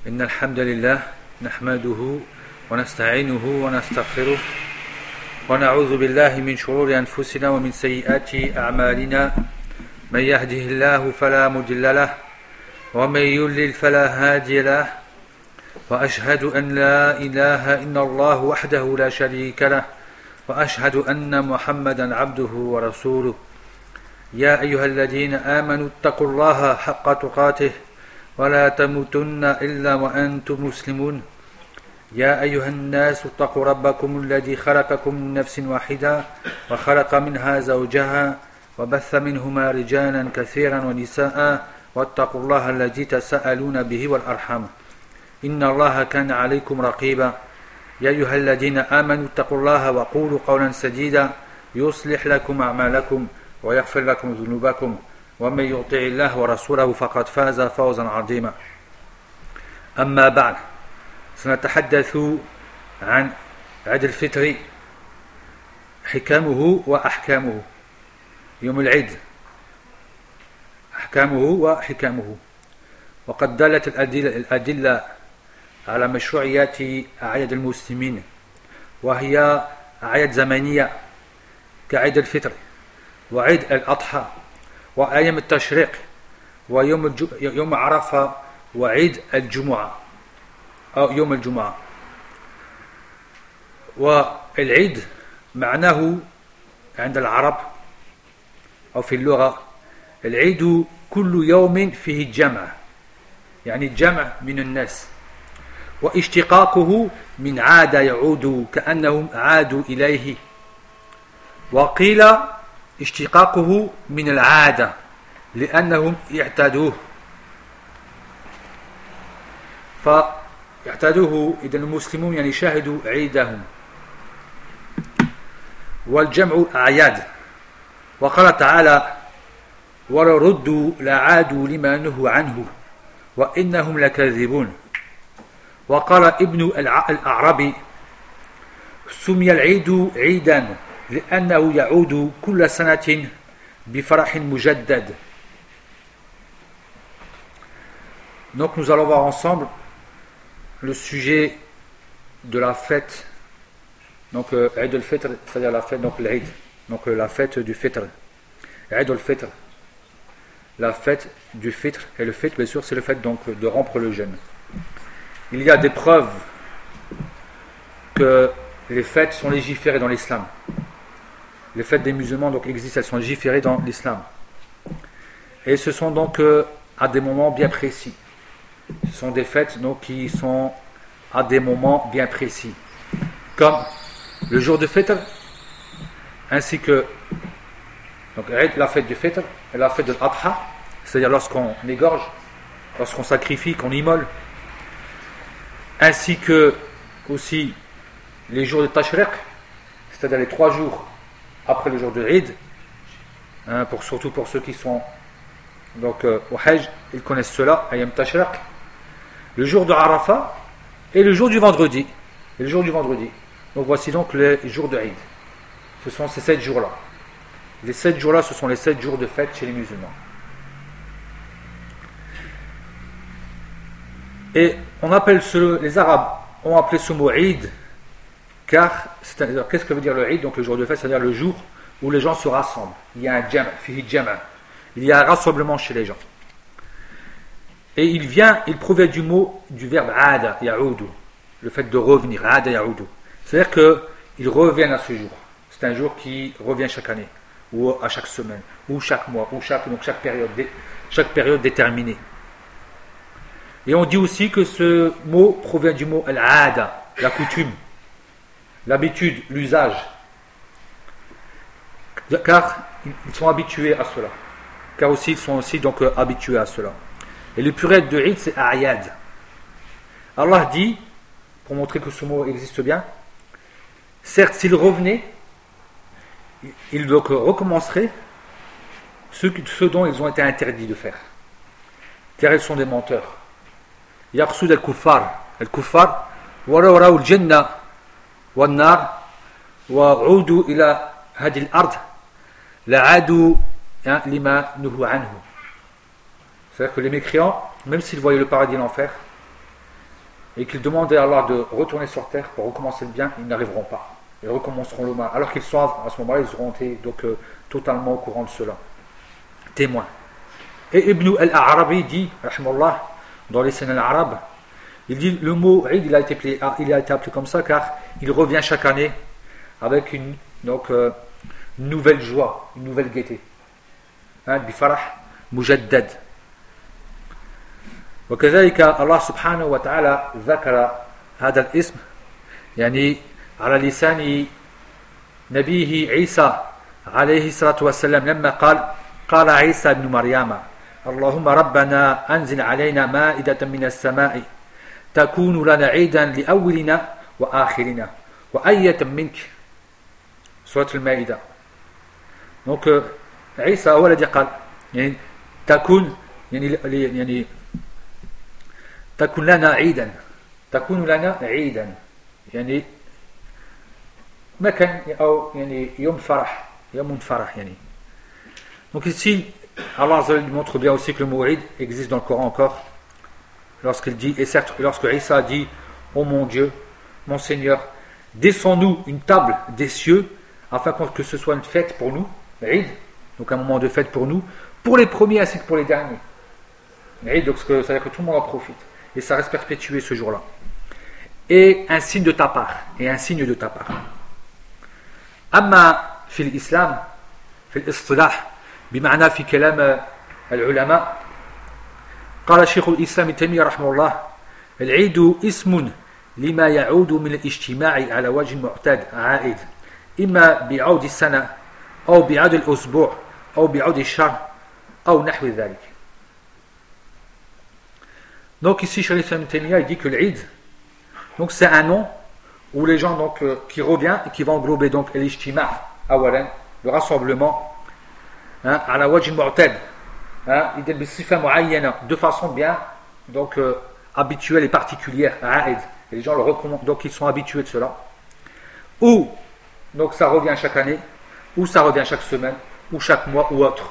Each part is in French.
إن الحمد لله نحمده ونستعينه ونستغفره ونعوذ بالله من شرور أنفسنا ومن سيئات أعمالنا من يهده الله فلا مضل له ومن يضلل فلا هادي له وأشهد أن لا إله إلا الله وحده لا شريك له وأشهد أن محمدا عبده ورسوله يا أيها الذين آمنوا اتقوا الله حق تقاته ولا تموتن إلا وأنتم مسلمون يا أيها الناس اتقوا ربكم الذي خلقكم من نفس واحدة وخلق منها زوجها وبث منهما رجالا كثيرا ونساء واتقوا الله الذي تساءلون به والأرحام إن الله كان عليكم رقيبا يا أيها الذين آمنوا اتقوا الله وقولوا قولا سديدا يصلح لكم أعمالكم ويغفر لكم ذنوبكم ومن يطع الله ورسوله فقد فاز فوزا عظيما أما بعد سنتحدث عن عيد الفطر حكمه وأحكامه يوم العيد أحكامه وحكمه وقد دلت الأدلة على مشروعية أعياد المسلمين وهي أعياد زمنية كعيد الفطر وعيد الأضحى وأيام التشريق ويوم عرفة وعيد الجمعة أو يوم الجمعة. والعيد معناه عند العرب أو في اللغة العيد كل يوم فيه الجمع، يعني الجمع من الناس، واشتقاقه من عاد يعود كأنهم عادوا إليه، وقيل اشتقاقه من العادة لأنهم اعتادوه فاعتادوه. إذا المسلمون يعني شاهدوا عيدهم. والجمع أعياد، وقال تعالى ولو ردوا لعادوا لما نهوا عنه وإنهم لكاذبون. وقال ابن الأعرابي سمي العيد عيدا لأنه يعود كل سنة بفرح مجدد. Donc nous allons voir ensemble le sujet de la fête, donc Eid al-Fitr, c'est-à-dire la fête, donc l'Eid, donc la fête du Fitr, Eid al-Fitr, la fête du Fitr, et le Fitr bien sûr c'est le fait donc de rompre le jeûne. Il y a des preuves que les fêtes sont légiférées dans l'islam. Les fêtes des musulmans donc existent, elles sont légiférées dans l'islam. Et ce sont donc à des moments bien précis. Ce sont des fêtes donc qui sont à des moments bien précis. Comme le jour de Fitr, ainsi que donc, la fête du Fitr et la fête de l'Adha, c'est-à-dire lorsqu'on égorge, lorsqu'on sacrifie, qu'on immole, ainsi que aussi les jours de Tashriq, c'est-à-dire les 3 jours après le jour de Eid, surtout pour ceux qui sont donc au Hajj, ils connaissent cela, Ayam Tashriq, le jour de Arafat et le jour du vendredi. Et le jour du vendredi. Donc voici donc les jours de Eid. Ce sont ces 7 jours-là. Les 7 jours-là, ce sont les 7 jours de fête chez les musulmans. Et on appelle les Arabes ont appelé ce mot Eid, car qu'est-ce que veut dire le Eid? Donc le jour de fête, c'est-à-dire le jour où les gens se rassemblent. Il y a un jam', fihi jam'. Il y a un rassemblement chez les gens. Et il provient du verbe ada ya'udu, le fait de revenir, ada ya'udu. C'est-à-dire qu'ils reviennent à ce jour. C'est un jour qui revient chaque année, ou à chaque semaine, ou chaque mois, ou chaque période déterminée. Et on dit aussi que ce mot provient du mot al-ada, la coutume, l'habitude, l'usage. Car ils sont habitués à cela. Car aussi ils sont aussi donc habitués à cela. Et le pluriel de Eid c'est A'yad. Allah dit, pour montrer que ce mot existe bien, certes s'ils revenaient, ils donc recommenceraient ce dont ils ont été interdits de faire. Car ils sont des menteurs. Yaqsud al-kuffar. Al-kuffar, walaw raw al-jannah wan-nar wa 'udu ila hadi al-ard la'adu lima nuhu anhu. C'est-à-dire que les mécréants, même s'ils voyaient le paradis et l'enfer, et qu'ils demandaient à Allah de retourner sur terre pour recommencer le bien, ils n'arriveront pas. Ils recommenceront le mal. Alors qu'ils sont à ce moment-là, ils auront été donc totalement au courant de cela. Témoins. Et Ibn al-Arabi dit, rahimahullah, dans les scènes arabes, il dit le mot Eid, il a été appelé comme ça car il revient chaque année avec une nouvelle joie, une nouvelle gaieté. Bifarah mujaddad. وكذلك الله سبحانه وتعالى ذكر هذا الاسم يعني على لسان نبيه عيسى عليه الصلاة والسلام لما قال عيسى بن مريم اللهم ربنا أنزل علينا مائدة من السماء تكون لنا عيدا لأولنا وآخرنا وآية منك سورة المائدة. Donc عيسى هو الذي قال يعني تكون يعني تكون لنا عيدا يعني مكان أو يعني يوم فرح يعني. Donc ici Allah montre bien aussi que le mot Eid existe dans le Coran encore lorsqu'il dit, et certes lorsque Isa dit ô mon Dieu, mon Seigneur, descends-nous une table des cieux afin que ce soit une fête pour nous, Eid, donc un moment de fête pour nous, pour les premiers ainsi que pour les derniers. Eid, donc ça veut dire que tout le monde en profite et ça reste perpétué ce jour-là. Et un signe de ta part, أما في الإسلام في الاصطلاح بمعنى في كلام العلماء قال شيخ الإسلام ابن تيمية رحمه الله العيد اسم لما يعود من الاجتماع على وجه معتاد عائد إما بعود السنة أو بعود الأسبوع أو بعود الشهر أو نحو ذلك. Donc ici Cheikh Islam Ibn Taymiyyah il dit que l'Eid, donc c'est un nom où les gens donc qui revient et qui va englober donc l'ijtima awalan, le rassemblement à la wajh al-mu'tad, il dit sifa muayyana, de façon bien donc habituelle et particulière, et les gens le recommandent, donc ils sont habitués de cela, ou donc ça revient chaque année, ou ça revient chaque semaine, ou chaque mois ou autre.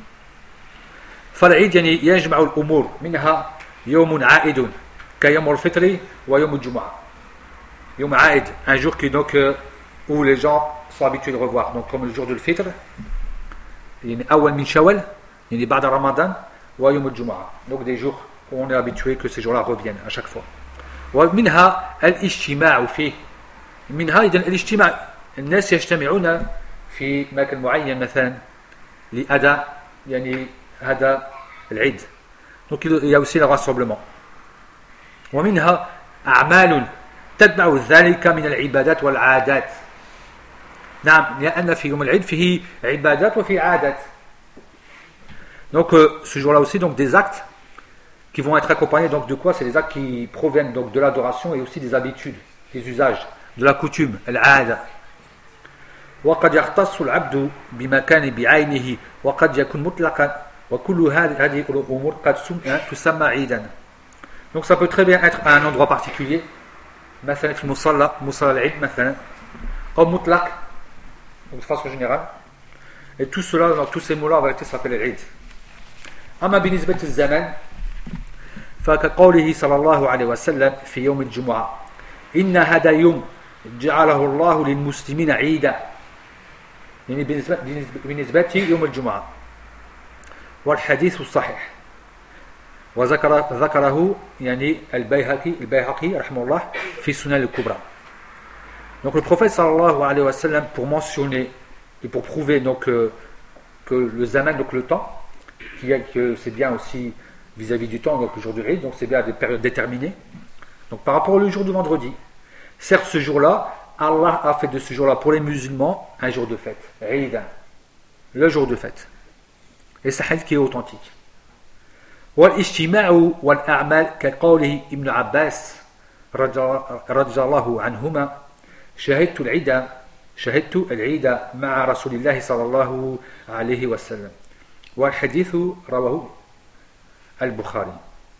فالعيد يعني يجمع الأمور منها يوم عائد كيوم الفطر ويوم الجمعة. يوم عائد, un jour qui donc où les gens sont habitués de revoir, donc comme le jour de Fitr, يعني أول من شوال يعني بعد رمضان ويوم الجمعة, donc des jours où on est habitué que ces jours-là reviennent à chaque fois. ومنها الاجتماع فيه, منها إذن الاجتماع الناس يجتمعون في مكان معين مثلا لأداء يعني هذا العيد, donc il y a aussi le rassemblement. ومنها أعمال تتبع ذلك من العبادات والعادات. نعم لأن في يوم العيد فيه عبادات وفي عادات. Donc ce jour-là aussi donc des actes qui vont être accompagnés donc de quoi? C'est des actes qui proviennent donc de l'adoration et aussi des habitudes, des usages, de la coutume, العادة. وقد يختص العبد بمكان بعينه وقد يكون مطلقا وكل هذه الأمور قد تسمى عيدا. Donc ça peut très bien être à un endroit particulier, مثلا في المصلى مصلى العيد مثلا, أو مطلق de façon générale, et tout cela, donc tous ces mots-là en vérité s'appellent العيد. أما بالنسبة للزمن فكقوله صلى الله عليه وسلم في يوم الجمعة إن هذا يوم جعله الله للمسلمين عيدا, يعني بالنسبة يوم الجمعة, والحديث الصحيح وذكره يعني البيهقي رحمه الله في سنن الكبرى. Donc le prophète sallallahu alayhi wa sallam, pour mentionner et pour prouver donc que le zaman, donc le temps, que c'est bien aussi vis-à-vis du temps, donc le jour du Eid, donc c'est bien à des périodes déterminées. Donc par rapport au jour du vendredi, certes ce jour-là, Allah a fait de ce jour-là pour les musulmans un jour de fête, Eid, le jour de fête. Et c'est un hadith qui est authentique. والاجتماع والأعمال كقوله ابن عباس رضي الله عنهما شهدت العيد مع رسول الله صلى الله عليه وسلم, والحديث رواه البخاري.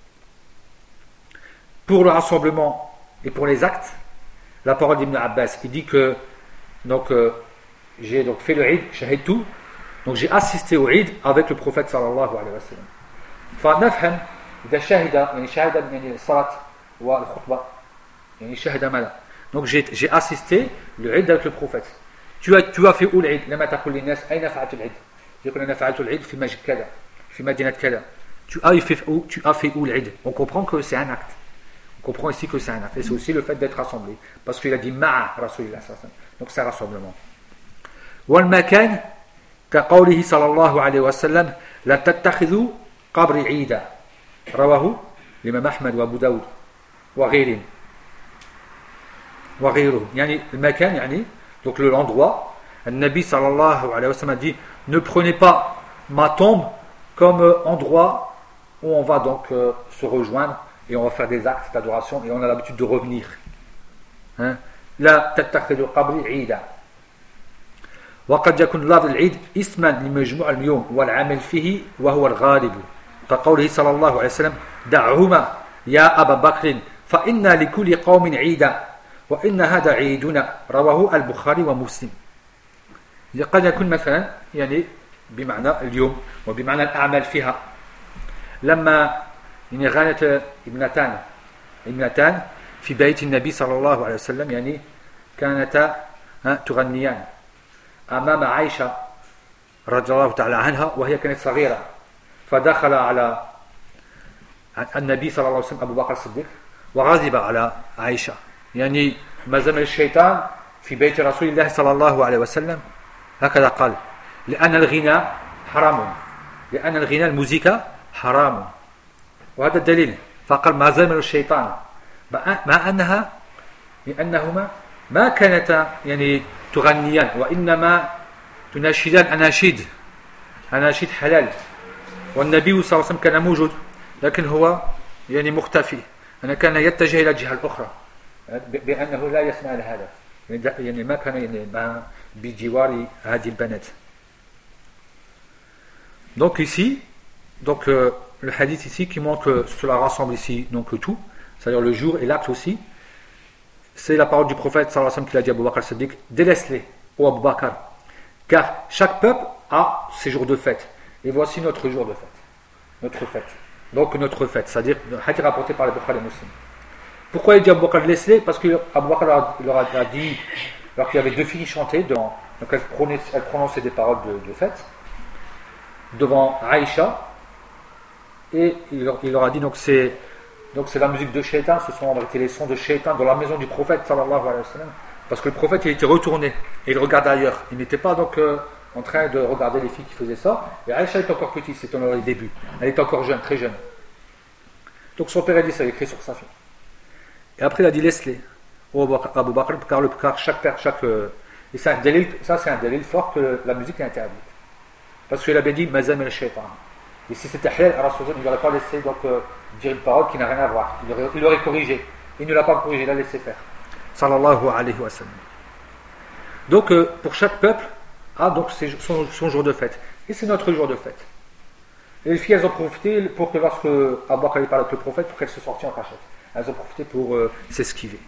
Pour le rassemblement et pour les actes, la parole d'Ibn Abbas, il dit que donc j'ai donc fait le Eid, shahidtu, donc j'ai assisté au Eid avec le prophète sallallahu alayhi wa sallam. فنفهم إذا شهد يعني شهد يعني الصلاة والخطبة يعني شهد ماذا donc j'ai assisté le Eid avec le prophète tu as fait où l'Eid لما تقول للناس أين فعلت العيد يقول أنا فعلت العيد في مسجد كذا في مدينة كذا tu as fait où l'Eid on comprend que c'est un acte on comprend ici que c'est un acte et c'est aussi le fait d'être rassemblé parce qu'il a dit ma'a Rasulillah donc c'est un rassemblement والمكان كقوله صلى الله عليه وسلم لا تتخذوا قبر عيدا رواه الإمام أحمد وأبو داود وغيرهم يعني المكان يعني donc l'endroit le Nabi sallallahu alayhi wa sallam dit ne prenez pas ma tombe comme endroit où on va donc se rejoindre et on va faire des actes d'adoration et on a l'habitude de revenir لا تتخذوا قبري عيدا وقد يكون لفظ العيد اسما لمجموع اليوم والعمل فيه وهو الغالب كقوله صلى الله عليه وسلم دعهما يا أبا بكر فإن لكل قوم عيدا وإن هذا عيدنا رواه البخاري ومسلم قد يكون مثلا يعني بمعنى اليوم وبمعنى الأعمال فيها لما يعني غانت ابنتان في بيت النبي صلى الله عليه وسلم يعني كانتا تغنيان أمام عائشة رضي الله تعالى عنها وهي كانت صغيرة فدخل على النبي صلى الله عليه وسلم أبو بكر الصديق وغضب على عائشة يعني ما زال الشيطان في بيت رسول الله صلى الله عليه وسلم هكذا قال لأن الغناء حرام لأن الغناء الموسيقى حرام وهذا الدليل فقال ما زال الشيطان مع أنها لأنهما ما كانتا يعني تغنيان وإنما تناشدان أناشيد حلال والنبي صلى الله عليه وسلم كان موجود لكن هو يعني مختفي أنا كان يتجه إلى الجهة الأخرى بأنه لا يسمع لهذا يعني ما كان يعني بجوار هذه البنات donc ici donc le hadith ici qui montre que cela rassemble ici donc tout c'est-à-dire le jour et l'acte aussi c'est la parole du prophète sallallahu alayhi wa sallam qui a dit à Abu Bakr Siddiq délaisse-les ô Abu Bakr car chaque peuple a ses jours de fête et voici notre jour de fête donc notre fête c'est-à-dire le hadith rapporté par les Bukhari et Muslim. Pourquoi il dit Abu Bakr laisse-les parce que Abu Bakr leur a dit alors qu'il y avait deux filles qui chantaient donc elles prononçaient des paroles de fête devant Aïcha et il leur a dit donc c'est la musique de Shaitan, ce sont en vérité les sons de Shaitan dans la maison du prophète sallallahu alayhi wa sallam parce que le prophète il était retourné et il regardait ailleurs, il n'était pas donc en train de regarder les filles qui faisaient ça et Aïcha est encore petite, c'est dans les débuts, elle est encore jeune, très jeune donc son père a dit ça, il a écrit sur sa fille et après il a dit laisse-les au Abu Bakr car chaque et ça c'est un délil fort que la musique est interdite parce qu'il avait dit mazam al-shaytan et si c'était halal, il n'aurait pas laissé donc dire une parole qui n'a rien à voir il aurait corrigé, il ne l'a pas corrigé, il l'a laissé faire sallallahu alayhi wa sallam donc pour chaque peuple a donc son jour de fête et c'est notre jour de fête et les filles elles ont profité pour que lorsque Abu Bakr parle avec le prophète pour qu'elles se sortent en cachette elles ont profité pour s'esquiver.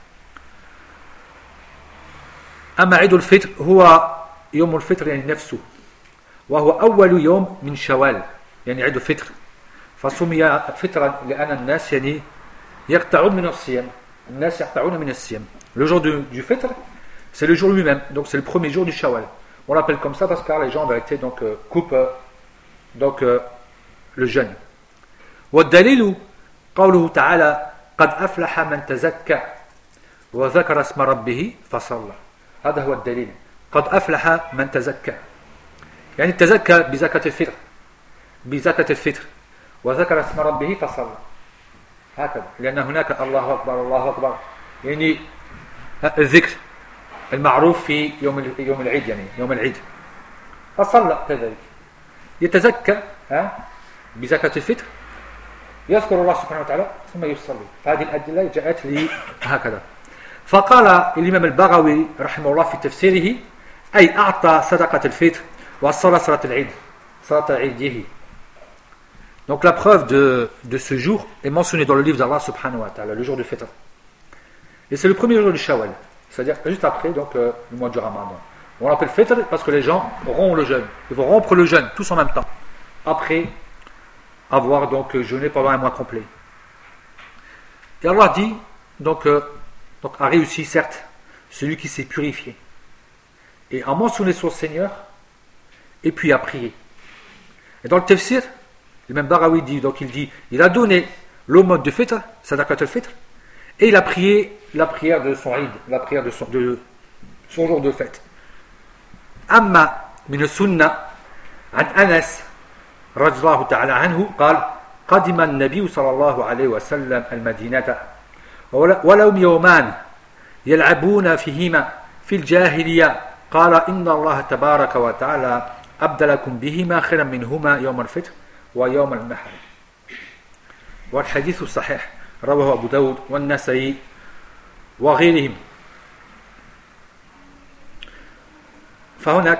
أما عيد الفطر هو يوم الفطر يعني نفسه وهو أول يوم من شوال يعني عيد الفطر فسمي فطرا لأن الناس يعني يقطعون من الصيام الناس يقطعون من الصيام le jour du fitr c'est le jour lui-même donc c'est le premier jour du shawal on l'appelle comme ça parce que les gens en vérité donc coupent donc le jeûne والدليل قوله تعالى قد أفلح من تزكى وذكر اسم ربه فصلى هذا هو الدليل قد أفلح من تزكى يعني تزكى بزكاة الفطر وذكر اسم ربه فصلى هكذا لأن هناك الله أكبر يعني الذكر المعروف في يوم العيد يعني يوم العيد فصلى كذلك يتزكى بزكاة الفطر يذكر الله سبحانه وتعالى ثم يصلي فهذه الأدلة جاءت لي هكذا فقال الإمام البغوي رحمه الله في تفسيره أي أعطى صدقة الفطر وصلى صلاة العيد صلاة عيده donc la preuve de ce jour est mentionnée dans le livre d'Allah subhanahu wa ta'ala le jour du fitr et c'est le premier jour du shawwal c'est-à-dire juste après donc le mois du ramadan on l'appelle fitr parce que les gens rompent le jeûne ils vont rompre le jeûne tous en même temps après avoir donc jeûné pendant un mois complet Et Allah dit, donc a réussi, certes, celui qui s'est purifié et a mentionné son Seigneur et puis a prié. Et dans le tafsir, le même Barawi dit, donc il a donné l'aumône de fitr, sadaqat al-fitr, et il a prié la prière de son Eid, la prière de son jour de fête. Amma min sunnah an Anas radhiyallahu ta'ala anhu قال قدم النبي صلى الله عليه وسلم المدينة ولهم يومان يلعبون فيهما في الجاهلية قال إن الله تبارك وتعالى أبدلكم بهما خيرا منهما يوم الفطر ويوم النحر. والحديث صحيح رواه أبو داود والنسائي وغيرهم. فهناك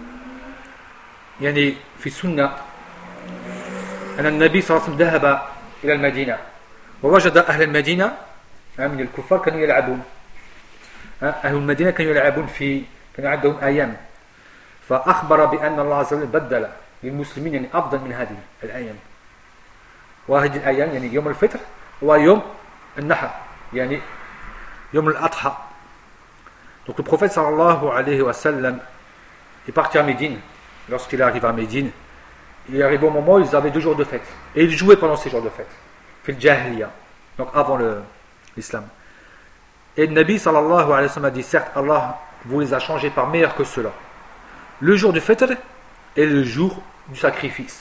يعني في السنة أن النبي صلى الله عليه وسلم ذهب إلى المدينة ووجد أهل المدينة من الكفار كانوا يلعبون. أهل المدينة كانوا يلعبون كان عندهم أيام، فأخبر بأن الله عز وجل بدل للمسلمين يعني أفضل من هذه الأيام. وهذه الأيام يعني يوم الفطر ويوم النحر يعني يوم الأضحى. Donc le prophète sallallahu alayhi wa sallam est parti à Médine. Lorsqu'il arrive à Médine, il arrive au moment où ils avaient 2 jours de fête. Et ils jouaient pendant ces jours de fête. Fil Jahiliya, donc avant l'islam. Et le Nabi sallallahu alayhi wa sallam a dit, certes, Allah vous les a changés par meilleurs que ceux-là. Le jour du fitr et le jour du sacrifice.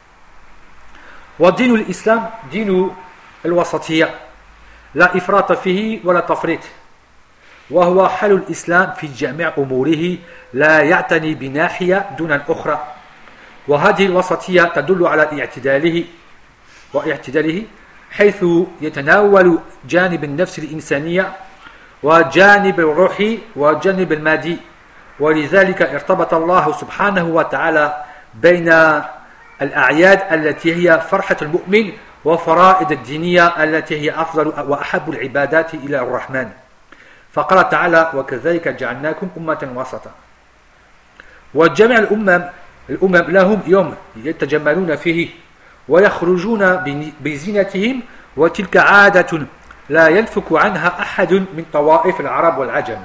ودين الإسلام دين الوسطية لا إفراط فيه ولا تفريط وهو حال الإسلام في جميع أموره لا يعتني بناحية دون الأخرى وهذه الوسطية تدل على اعتداله حيث يتناول جانب النفس الإنسانية وجانب الروح وجانب المادي ولذلك ارتبط الله سبحانه وتعالى بين الأعياد التي هي فرحة المؤمن وفرائض الدينية التي هي أفضل وأحب العبادات إلى الرحمن فقال تعالى وكذلك جعلناكم أمة وسطا وجميع الأمم لهم يوم يتجملون فيه ويخرجون بزينتهم وتلك عادة لا ينفك عنها أحد من طوائف العرب والعجم.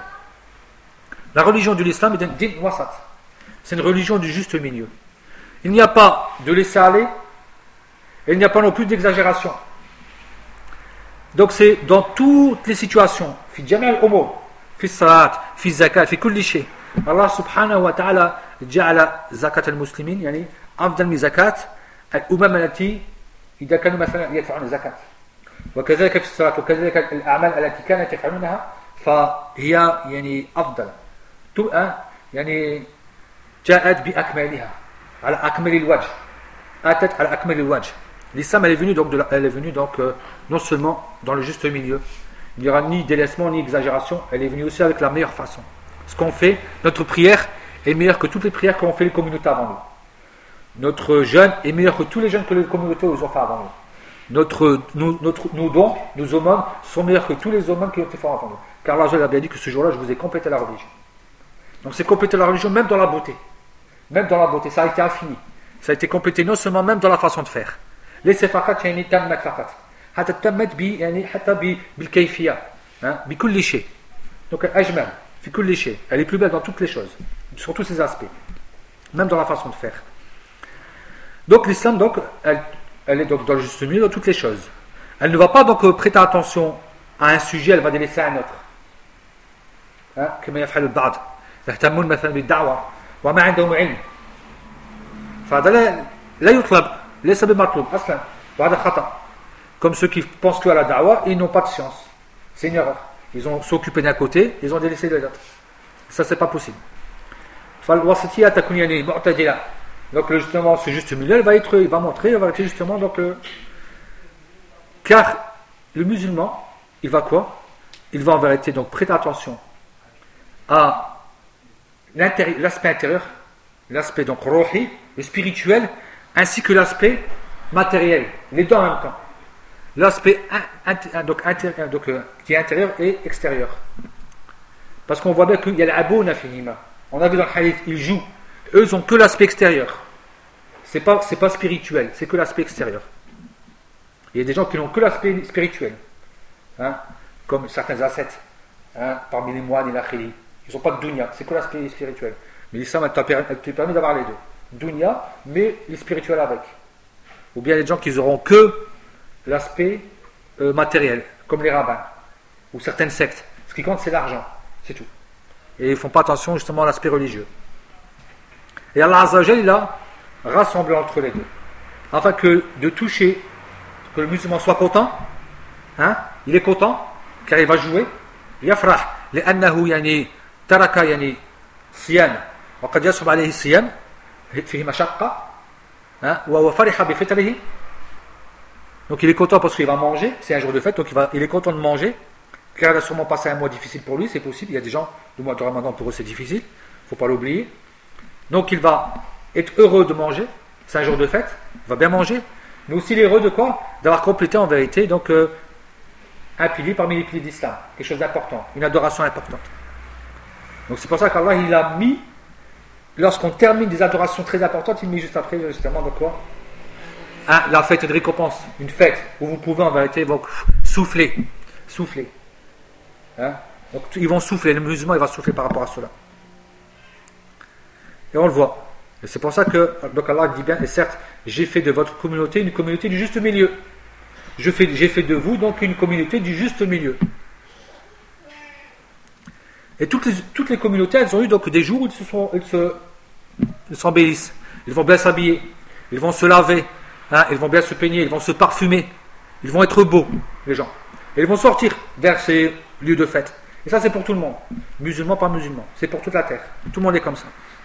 La religion de l'islam est un din wasat. C'est une religion du juste milieu. Il n'y a pas de laisser aller et il n'y a pas non plus d'exagération. Donc c'est dans toutes les situations, fi jami' al-umur, fi salat, fi zakat, fi kulli shay. Allah subhanahu wa ta'ala ja'ala zakat al-muslimin yani afdal min zakat al-umam allati idha kanu mathalan yadfa'un zakat. وكذلك في الصلاة وكذلك الأعمال التي كانت يفعلونها فهي يعني أفضل يعني جاءت بأكملها على أكمل الوجه أتت على أكمل الوجه. L'islam elle est venue donc non seulement dans le juste milieu, il n'y aura ni délaissement ni exagération, elle est venue aussi avec la meilleure façon. Ce qu'on fait, notre prière est meilleure que toutes les prières qu'ont fait les communautés avant nous. Notre jeûne est meilleur que tous les jeûnes que les communautés ont fait avant nous. Nos dons, nos aumônes sont meilleurs que tous les aumônes qui ont été faits avant nous. Car Allah a bien dit que ce jour-là, je vous ai complété la religion. Donc c'est compléter la religion même dans la beauté. Même dans la beauté, ça a été infini. Ça a été complété non seulement même dans la façon de faire. Laissez fakat yani tammat fakat. Hatta tammat bi yani hatta bil kayfiyya, bi kulli shay. Donc ajmal fi kulli shay. Elle est plus belle dans toutes les choses, sur tous ses aspects. Même dans la façon de faire. Donc l'islam donc elle est donc dans le juste milieu dans toutes les choses. Elle ne va pas donc prêter attention à un sujet, elle va délaisser un autre. كما يفعل البعض يهتمون مثلا بالدعوة وما عندهم علم فهذا لا يطلب ليس بمطلوب أصلا وهذا خطأ. Comme ceux qui pensent que à la da'wa ils n'ont pas de science, c'est une erreur. Ils ont s'occupé d'un côté, ils ont délaissé de l'autre. Ça c'est pas possible. فالوسطية تكون يعني معتدلة. Donc justement ce juste milieu il va montrer justement donc car le musulman il va quoi? Il va en vérité donc prêter attention à l'aspect intérieur, l'aspect donc ruhi, le spirituel, ainsi que l'aspect matériel, les deux en même temps. L'aspect qui est intérieur et extérieur. Parce qu'on voit bien qu'il y a l'abuna finima. On a vu dans le hadith, ils jouent. Eux n'ont que l'aspect extérieur. C'est pas spirituel, c'est que l'aspect extérieur. Il y a des gens qui n'ont que l'aspect spirituel. hein, comme certains ascètes, hein, parmi les moines et la khili. Ils n'ont pas de dunya, c'est que l'aspect spirituel. Mais l'islam, elle te permet d'avoir les deux. Dunya, mais les spirituels avec. Ou bien les gens qui n'auront que l'aspect matériel, comme les rabbins, ou certaines sectes. Ce qui compte, c'est l'argent, c'est tout. Et ils ne font pas attention justement à l'aspect religieux. Et Allah Azza wa Jalla, il a rassemblé entre les deux. Afin que de toucher, que le musulman soit content, hein, il est content, car il va jouer. Yafrah, لأنه يعني ترك يعني صيام وقد يصعب عليه الصيام فيه مشقة وهو فرح بفطره. Donc il est content parce qu'il va manger, c'est un jour de fête, donc il est content de manger, car il a sûrement passé un mois difficile pour lui, c'est possible, il y a des gens, le mois de Ramadan pour eux c'est difficile, il ne faut pas l'oublier. Donc il va être heureux de manger, c'est un jour de fête, il va bien manger, mais aussi il est heureux de quoi? D'avoir complété en vérité donc un pilier parmi les piliers d'islam, quelque chose d'important, une adoration importante. Donc c'est pour ça qu'Allah il a mis, lorsqu'on termine des adorations très importantes, il met juste après justement de quoi? La fête de récompense, une fête où vous pouvez en vérité donc, souffler. Hein? Donc ils vont souffler, le musulman il va souffler par rapport à cela. Et on le voit. Et c'est pour ça que donc Allah dit bien, et certes, j'ai fait de votre communauté une communauté du juste milieu. J'ai fait de vous donc une communauté du juste milieu. Et toutes les communautés, elles ont eu donc des jours où ils s'embellissent. Ils vont bien s'habiller, ils vont se laver, hein, ils vont bien se peigner, ils vont se parfumer, ils vont être beaux, les gens. Et ils vont sortir vers ces lieux de fête. Et ça, c'est pour tout le monde. Musulman, pas musulman. C'est pour toute la terre. Tout le monde est comme ça.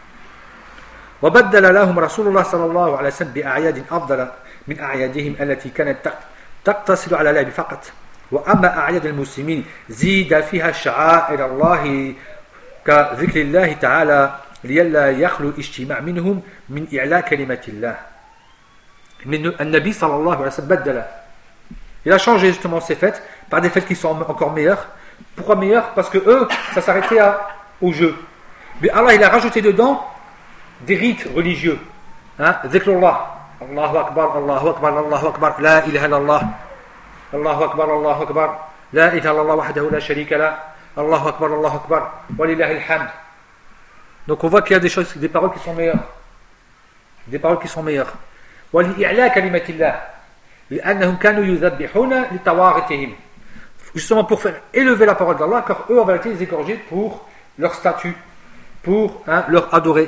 وبدل لهم رسول الله صلى الله عليه وسلم بأعياد أفضل من أعيادهم التي كانت تقتصر على اللعب فقط وأما أعياد المسلمين زيد فيها شعائر الله كذكر الله تعالى لئلا يخلو اجتماع منهم من إعلاء كلمة الله. النبي صلى الله عليه وسلم بدل. Il a changé justement ces fêtes par des fêtes qui sont encore meilleures. Pourquoi meilleures? Parce que eux, ça s'arrêtait au jeu. Mais Allah, il a rajouté dedans des rites religieux. Hein? Dhikrullah. Allahu Akbar, Allahu Akbar, Allahu Akbar, La ilaha illallah. Allahu Akbar, Allahu Akbar, La ilaha illallah wahdahu la sharika la. Allahu Akbar, Walillahi alhamd. Donc on voit qu'il y a des paroles qui sont meilleures. Des paroles qui sont meilleures. وَلِإِعْلَى كَلِمَةِ اللَّهِ لِأَنَّهُمْ كَانُوا يُذَبِّحُونَ لِتَوَاغِتِهِمْ. Justement pour faire élever la parole d'Allah, car eux en vérité ils égorgeaient pour leur statut, pour leur adorer.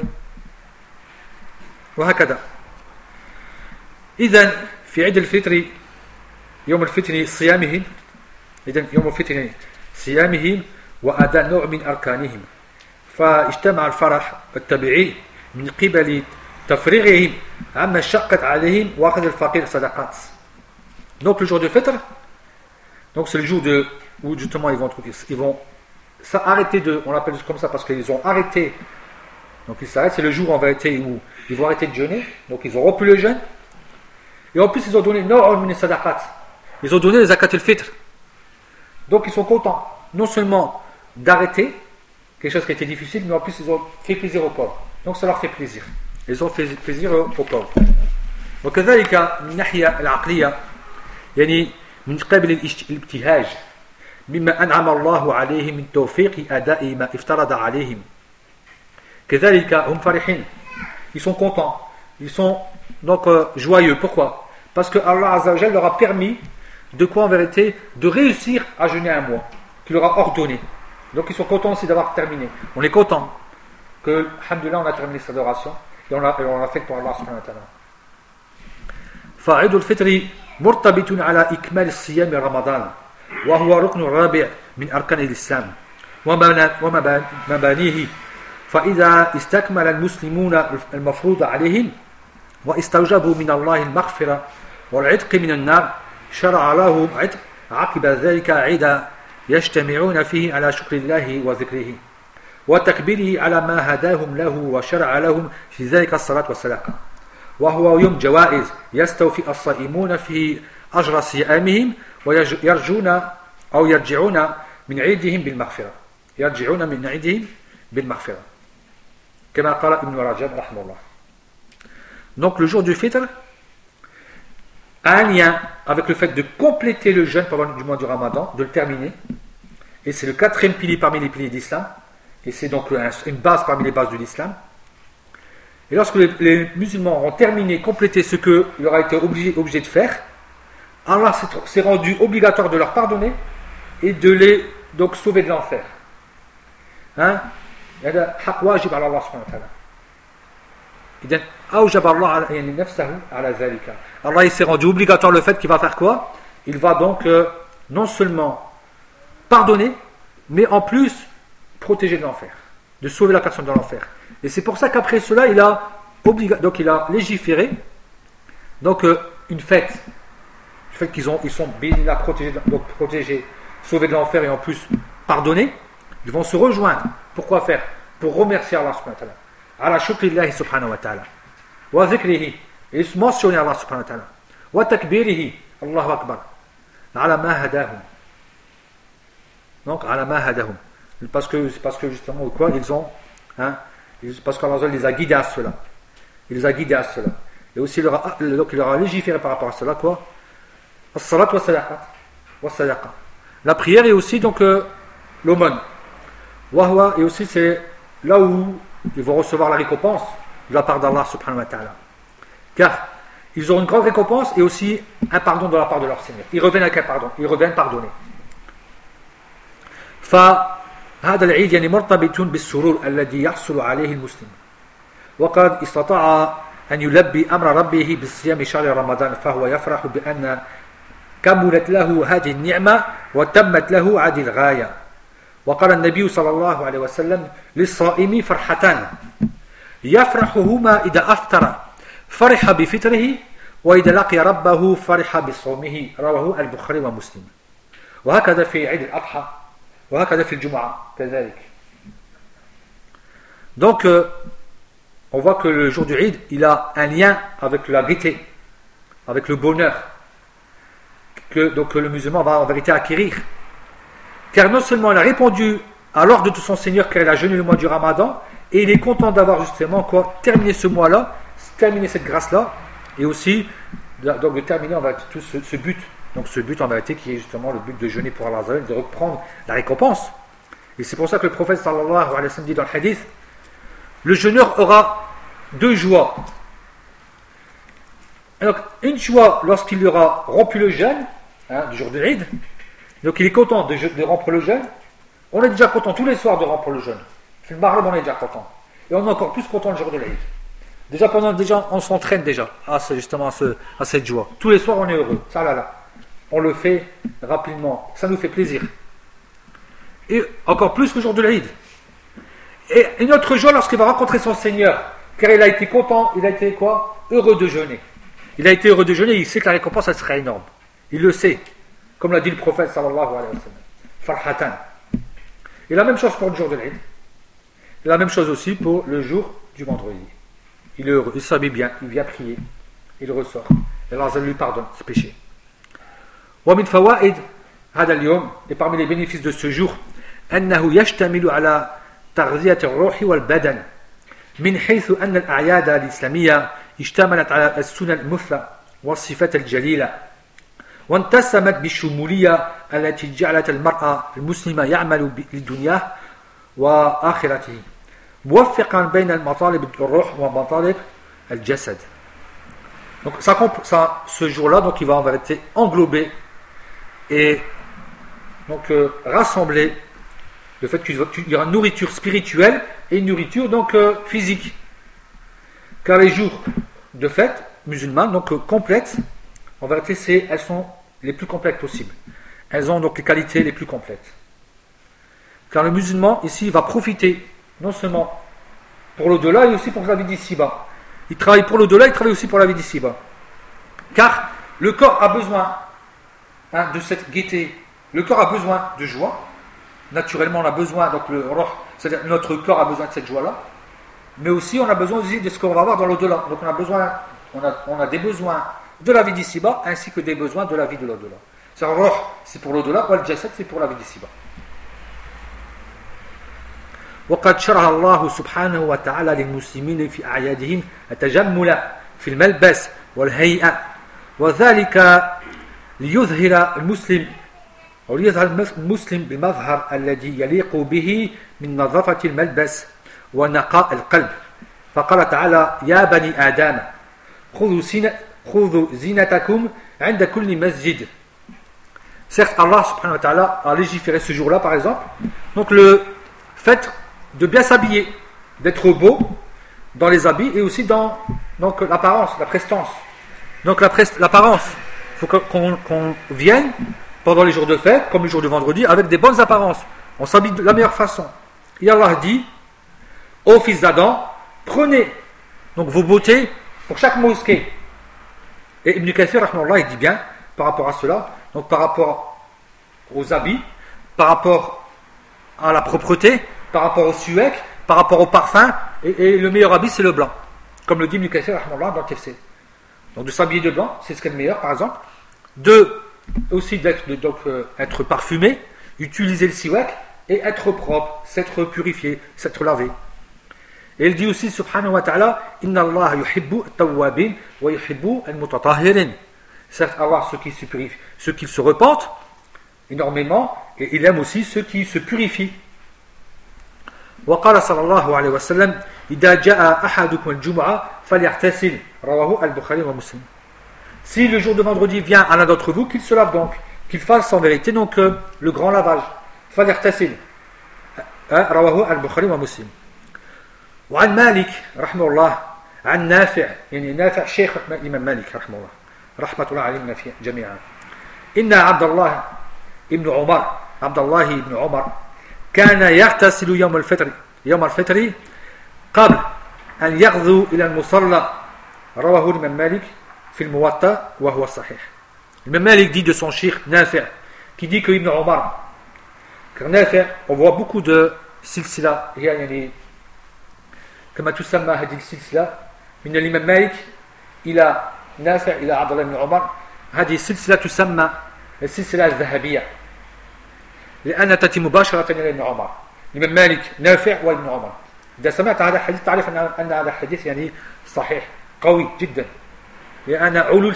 وهكذا. إذن في عيد الفطر يوم الفطر صيامهم إذن يوم الفطر صيامهم وأداء نوع من أركانهم فاجتمع الفرح الطبيعي من قبل تفريغهم عما شقت عليهم وأخذ الفقير صدقات. Donc le jour de fitr, donc c'est le jour où justement ils vont s'arrêter on l'appelle comme ça parce qu'ils ont arrêté. Donc ils s'arrêtent, c'est le jour en vérité où ils vont arrêter de jeûner, donc ils ont rompu le jeûne. Et en plus ils ont donné ils ont donné les zakat al-fitr. Donc ils sont contents, non seulement d'arrêter quelque chose qui était difficile, mais en plus ils ont fait plaisir aux pauvres. Donc ça leur fait plaisir. Ils ont fait plaisir aux pauvres. وكذلك من الناحية العقلية يعني من قبل الابتهاج مما أنعم الله عليهم من توفيق أداء ما افترض عليهم. كذلك هم فرحين. Ils sont contents. Ils sont donc joyeux. Pourquoi? Parce que Allah Azza wa Jalla leur a permis de quoi en vérité? De réussir à jeûner un mois. Qu'il leur a ordonné. Donc ils sont contents aussi d'avoir terminé. On est content que, alhamdoulilah, on a terminé cette adoration et on l'a fait pour Allah subhanahu wa ta'ala. فعيد الفطر مرتبط على إكمال الصيام رمضان وهو ركن رابع من أركان الإسلام ومبانيه فإذا استكمل المسلمون المفروض عليهم واستوجبوا من الله المغفرة والعتق من النار شرع لهم عتق عقب ذلك عيدا يجتمعون فيه على شكر الله وذكره وتكبيره على ما هداهم له وشرع لهم في ذلك الصلاة والصدقة وهو يوم جوائز يستوفي الصائمون في أجر صيامهم ويرجون أو يرجعون من عيدهم بالمغفرة كما قال ابن رجب رحمه الله. Donc le jour du fitr, a un lien avec le fait de compléter le jeûne pendant du mois du Ramadan, de le terminer. Et c'est le quatrième pilier parmi les piliers d'Islam. Et c'est donc une base parmi les bases de l'Islam. Et lorsque les musulmans auront terminé, complété ce qu'il leur a été obligé de faire, Allah s'est rendu obligatoire de leur pardonner et de les donc sauver de l'enfer. Hein? Allah il s'est rendu obligatoire le fait qu'il va faire quoi? Il va donc non seulement pardonner, mais en plus protéger de l'enfer, de sauver la personne de l'enfer. Et c'est pour ça qu'après cela, il a légiféré donc une fête. Le fait qu'ils sont protégés, sauvés de l'enfer et en plus pardonnés, ils vont se rejoindre. Pourquoi faire? Pour remercier Allah subhanahu wa ta'ala. Ala shukrillahi subhanahu wa ta'ala. Wa zikrihi. Et mentionner Allah subhanahu wa ta'ala. Wa takbirihi. Allahu akbar. Ala ma hadahum. Donc, ala ma hadahum. Parce que justement, quoi, ils ont, parce qu'Allah les a guidés à cela. Il les a guidés à cela. Et aussi, il leur a légiféré par rapport à cela, quoi? As-salat wa sadaqa. La prière et aussi, donc, l'aumône. Wahwa, et aussi, c'est là où ils vont recevoir la récompense de la part d'Allah subhanahu wa ta'ala. Car ils auront une grande récompense et aussi un pardon de la part de leur Seigneur. Ils reviennent avec un pardon. Ils reviennent pardonner. فهذا العيد يعني مرتبط بالسرور الذي يحصل عليه المسلم وقد استطاع أن يلبي أمر ربه بالصيام شهر رمضان فهو يفرح بأن كملت له هذه النعمة وتمت له هذه الغاية وقال النبي صلى الله عليه وسلم للصائم فرحتان يفرحهما إذا أفطر فرح بفطره وإذا لقي ربه فرح بصومه رواه البخاري ومسلم وهكذا في عيد الأضحى وهكذا في الجمعة كذلك. Donc on voit que le jour du Eid il a un lien avec la gaieté, avec le bonheur que donc le musulman va en vérité acquérir, car non seulement il a répondu à l'ordre de son Seigneur car il a jeûné le mois du Ramadan et il est content d'avoir justement quoi terminé ce mois-là, terminé cette grâce-là et aussi donc de terminer en vérité tout ce but. Donc ce but en vérité qui est justement le but de jeûner pour Allah, de reprendre la récompense. Et c'est pour ça que le prophète sallallahu alayhi wa sallam dit dans le hadith, le jeûneur aura deux joies. Donc une joie lorsqu'il aura rompu le jeûne, du jour de l'Eid, donc il est content de rompre le jeûne. On est déjà content tous les soirs de rompre le jeûne. Le Maghreb on est déjà content. Et on est encore plus content le jour de l'Eid. Déjà on s'entraîne déjà à cette joie. Tous les soirs on est heureux. Ça là. On le fait rapidement, ça nous fait plaisir. Et encore plus le jour de l'Eid. Et une autre joie lorsqu'il va rencontrer son Seigneur, car il a été content, il a été quoi? Heureux de jeûner. Il a été heureux de jeûner, il sait que la récompense elle sera énorme. Il le sait, comme l'a dit le prophète sallallahu alayhi wa sallam. Farhatan. Et la même chose pour le jour de l'Eid. Et la même chose aussi pour le jour du vendredi. Il est heureux, il s'habille bien, il vient prier, il ressort. Et Allah lui pardonne ses péchés. ومن فوائد هذا اليوم et parmi les bénéfices de ce jour أنه يشتمل على تغذية الروح والبدن من حيث أن الأعياد الإسلامية اشتملت على السنن المثلى والصفات الجليلة وانتسمت بالشمولية التي جعلت المرأة المسلمة يعمل لدنياه وآخرته موفقا بين المطالب الروح ومطالب الجسد. Donc ce jour-là donc il va en vérité englober et donc rassembler le fait qu'il y aura une nourriture spirituelle et une nourriture donc physique, car les jours de fête musulmanes donc complètes en vérité elles sont les plus complètes possibles, elles ont donc les qualités les plus complètes, car le musulman ici va profiter non seulement pour l'au-delà et aussi pour la vie d'ici-bas. Il travaille pour l'au-delà, il travaille aussi pour la vie d'ici-bas, car le corps a besoin de cette gaieté. Le corps a besoin de joie. Naturellement, on a besoin, donc c'est-à-dire notre corps a besoin de cette joie-là, mais aussi on a besoin aussi de ce qu'on va avoir dans l'au-delà. Donc on a des besoins de la vie d'ici-bas ainsi que des besoins de la vie de l'au-delà. C'est pour l'au-delà, ou al-jasad, c'est pour la vie d'ici-bas. وقد شرع الله سبحانه وتعالى للمسلمين في أعيادهم التجمل في الملبس والهيئة وذلك ليظهر المسلم أو ليظهر المسلم بالمظهر الذي يليق به من نظافة الملبس ونقاء القلب. فقال تعالى يا بني آدم خذوا زينتكم عند كل مسجد. Certes, Allah subhanahu wa ta'ala a légiféré ce jour-là, par exemple. Donc, le fait de bien s'habiller, d'être beau dans les habits et aussi dans donc, l'apparence, la prestance. Donc, l'apparence, il faut qu'on vienne pendant les jours de fête, comme le jour de vendredi, avec des bonnes apparences. On s'habille de la meilleure façon. Et Allah dit ô fils d'Adam, prenez donc vos beautés pour chaque mosquée. Et Ibn Kathir, rahmahullah, il dit bien par rapport à cela, donc par rapport aux habits, par rapport à la propreté, par rapport au suec, par rapport au parfum, et le meilleur habit c'est le blanc, comme le dit Ibn Kathir rahimahullah dans le tafsir. Donc de s'habiller de blanc, c'est ce qui est le meilleur par exemple. Aussi être parfumé, utiliser le siwak et être propre, s'être purifié, s'être lavé. Et il dit aussi subhanahu wa ta'ala inna Allah yuhibbu at-tawwabin wa yuhibbu al-mutatahhirin. Certes, Allah, ceux qui se repentent énormément, et il aime aussi ceux qui se purifient. وقال صلى الله عليه وسلم إذا جاء أحدكم الجمعة فليغتسل رواه البخاري ومسلم. Si le jour de vendredi vient à l'un d'entre vous, qu'il se lave donc, qu'il fasse en vérité donc le grand lavage. فليغتسل رواه البخاري ومسلم. وعن مالك رحمه الله عن نافع يعني نافع شيخ الإمام مالك رحمه الله رحمة الله علينا جميعا إن عبد الله بن عمر كان يغتسل يوم الفطر قبل أن يغدو إلى المصلى رواه الإمام مالك في الموطأ وهو الصحيح. L'imam Malik dit de son cheikh Nafi' qui dit que Ibn Omar, car Nafi' on voit beaucoup de silsila يعني كما تسمى هذه السلسلة من الإمام مالك إلى نافع إلى عبد الله بن عمر. هذه السلسلة تسمى السلسلة الذهبية لأنها تأتي مباشرة إلى ابن عمر. الإمام مالك نافع وابن عمر. إذا سمعت هذا الحديث تعرف أن هذا الحديث يعني صحيح قوي جدا لأن علو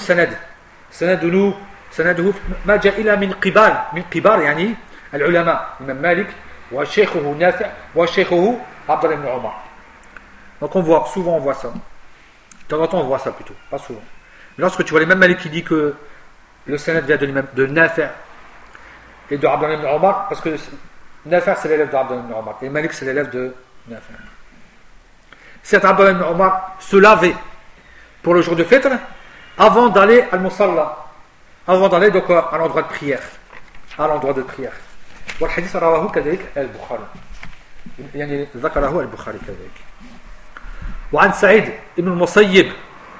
سنده ما جاء إلى من قبار يعني العلماء الإمام مالك وشيخه نافع وشيخه عبد الله بن عمر. Donc souvent on voit ça. De temps en temps on voit ça plutôt, pas souvent. Mais lorsque tu vois l'imam Malik qui dit que le sanad vient de Nafi' et de Abdullah ibn Omar, parce que Nafi' c'est l'élève d'Abdullah ibn Omar et Malik c'est l'élève de Nafi'. Certes, Abdullah ibn Omar se lavait pour le jour de fête avant d'aller à al-Musalla, avant d'aller donc à l'endroit de prière. والحديث رواه كذلك البخاري يعني ذكره البخاري كذلك. وعن سعيد بن المسيب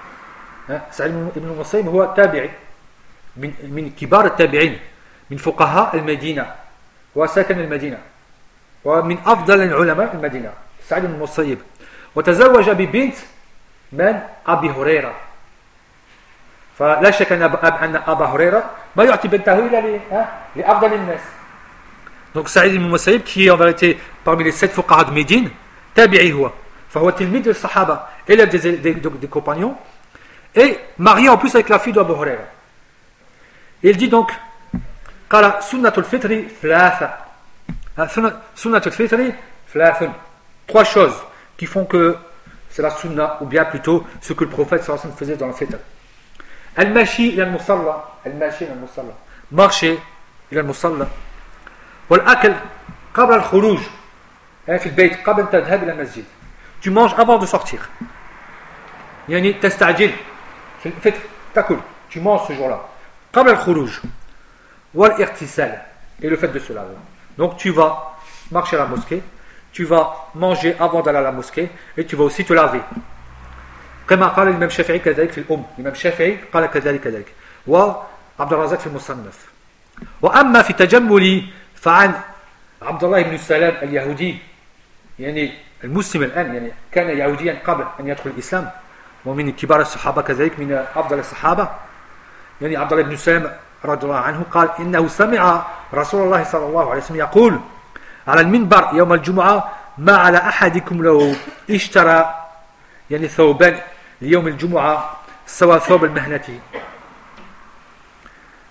هو تابعي من كبار التابعين من فقهاء المدينة وساكن المدينة ومن أفضل العلماء المدينة سعيد بن المسيب وتزوج ببنت من أبي هريرة. فلا شك أن أبا هريرة ما يعطي بنته إلا لأفضل الناس. Donc Saïd ibn Musayyib qui est en vérité parmi les 7 fuqaha de Médine, tabi'i huwa. فهو تلميذ الصحابة, élève des compagnons et marié en plus avec la fille d'Abu Huraira. Il dit donc قال سنة الفطر ثلاثة. سنة الفطر ثلاث. 3 choses qui font que c'est la sunna ou bien plutôt ce que le prophète sallallahu alayhi wa sallam faisait dans le fitr. المشي إلى المصلى marcher إلى المصلى والأكل قبل الخروج في البيت قبل أن تذهب إلى المسجد. Tu manges avant de sortir. يعني تستعجل في الفطر تأكل, tu manges ce jour-là. قبل الخروج والاغتسال et le fait de se laver. Donc tu vas marcher à la mosquée, tu vas manger avant d'aller à la mosquée et tu vas aussi te laver. كما قال الإمام الشافعي كذلك في الأم. الإمام الشافعي قال كذلك وعبد الرزاق في المصنف. وأما في تجمل فعن عبد الله بن سلام اليهودي يعني المسلم الآن يعني كان يهوديا قبل أن يدخل الإسلام ومن كبار الصحابة كذلك من أفضل الصحابة يعني عبد الله بن سلام رضي الله عنه قال إنه سمع رسول الله صلى الله عليه وسلم يقول على المنبر يوم الجمعة ما على أحدكم لو اشترى يعني ثوبان ليوم الجمعة سوى ثوب المهنة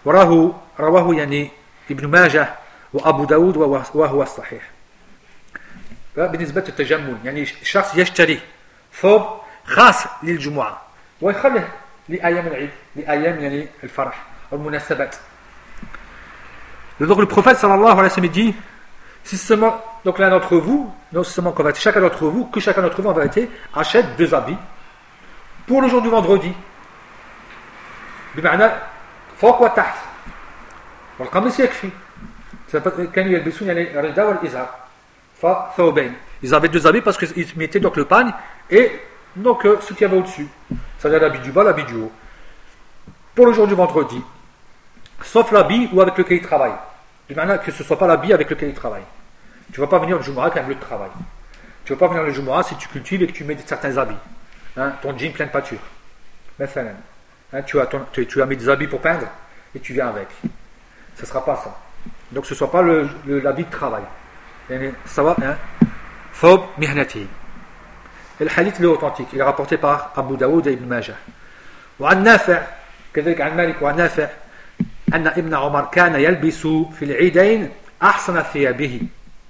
رواه يعني ابن ماجه وأبو داود وهو الصحيح. بالنسبة للتجمل يعني الشخص يشتري ثوب خاص للجمعة ويخليه لأيام العيد لأيام يعني الفرح والمناسبات. Donc le prophète sallallahu alayhi wa sallam dit si seulement donc l'un d'entre vous, non seulement qu'en vérité, chacun d'entre vous en vérité achète 2 habits pour le jour du vendredi. بمعنى فوق وتحت والقميص يكفي. كانوا يلبسون يعني الرداء والإزار فثوبين. Ils avaient 2 habits parce qu'ils mettaient donc le pagne et donc ce qu'il y avait au-dessus. C'est-à-dire l'habit du bas, l'habit du haut. Pour le jour du vendredi. Sauf l'habit ou avec lequel il travaille. Du manière que ce ne soit pas l'habit avec lequel il travaille. Tu ne vas pas venir le Jumu'ah avec un lieu de travail. Tu ne vas pas venir le Jumu'ah si tu cultives et que tu mets certains habits. Hein, ton jean plein de pâture. Hein, tu as mis des habits pour peindre et tu viens avec. Ce ne sera pas ça. Donc ce ne soit pas l'habit de travail. Ça va, hein? Thawb mihnati. Et le hadith est authentique. Il est rapporté par Abu Daoud et Ibn Majah. وعن نافع كذلك عن مالك وعن نافع أن ابن عمر كان يلبس في العيدين أحسن ثيابه.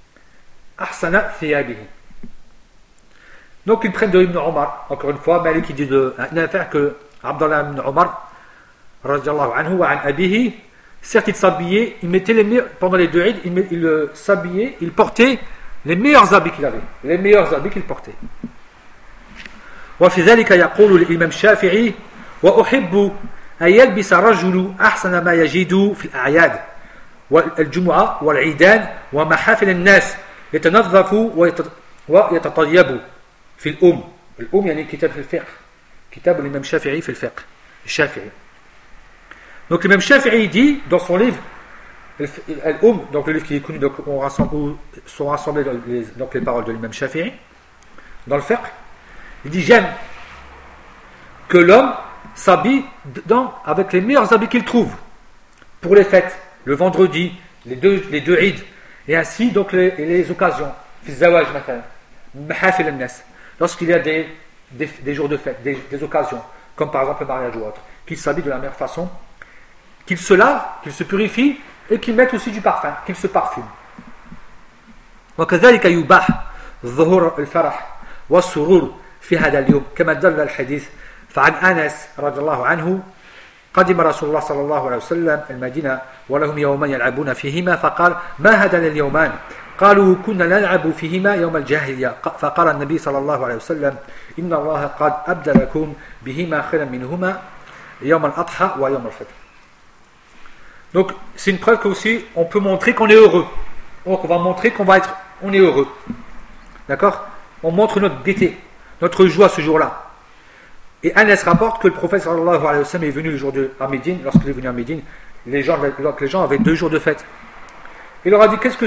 Donc ils prennent de Ibn Omar, encore une fois, Malik qui dit de Nafi' que Abdallah ibn Omar, radiallahu anhu, wa an abihi, certes il s'habillait, il mettait les meilleurs, pendant les 2 Eid, il s'habillait, il portait les meilleurs habits qu'il avait, les meilleurs habits qu'il portait. وفي ذلك يقول الإمام الشافعي وأحب أن يلبس رجل أحسن ما يجد في الأعياد والجمعة والعيدان ومحافل الناس يتنظف ويتطيب في الأم يعني كتاب في الفقه كتاب الإمام الشافعي في الفقه الشافعي. Donc l'imam Shafi'i dit dans son livre donc le livre qui est connu, donc où sont rassemblées donc les paroles de l'imam Shafi'i dans le fiqh, il dit j'aime que l'homme s'habille avec les meilleurs habits qu'il trouve pour les fêtes, le vendredi, les deux Eid, et ainsi donc les occasions, lorsqu'il y a des jours de fête, des occasions, comme par exemple le mariage ou autre, qu'il s'habille de la meilleure façon, qu'il se lave, qu'il se purifie et qu'il mette aussi du parfum, qu'il se parfume. وكذلك يباح ظهور الفرح والسرور في هذا اليوم كما دل الحديث فعن أنس رضي الله عنه قدم رسول الله صلى الله عليه وسلم المدينة ولهم يومان يلعبون فيهما فقال ما هذان اليومان قالوا كنا نلعب فيهما يوم الجاهلية فقال النبي صلى الله عليه وسلم إن الله قد أبدلكم بهما خيرا منهما يوم الأضحى ويوم الفطر. Donc c'est une preuve qu'aussi on peut montrer qu'on est heureux. Donc on va montrer on est heureux. D'accord? On montre notre gaieté, notre joie ce jour-là. Et Anas rapporte que le prophète sallallahu alayhi wa sallam est venu le jour à Médine. Lorsqu'il est venu à Médine, les gens avaient 2 jours de fête. Il leur a dit qu'est-ce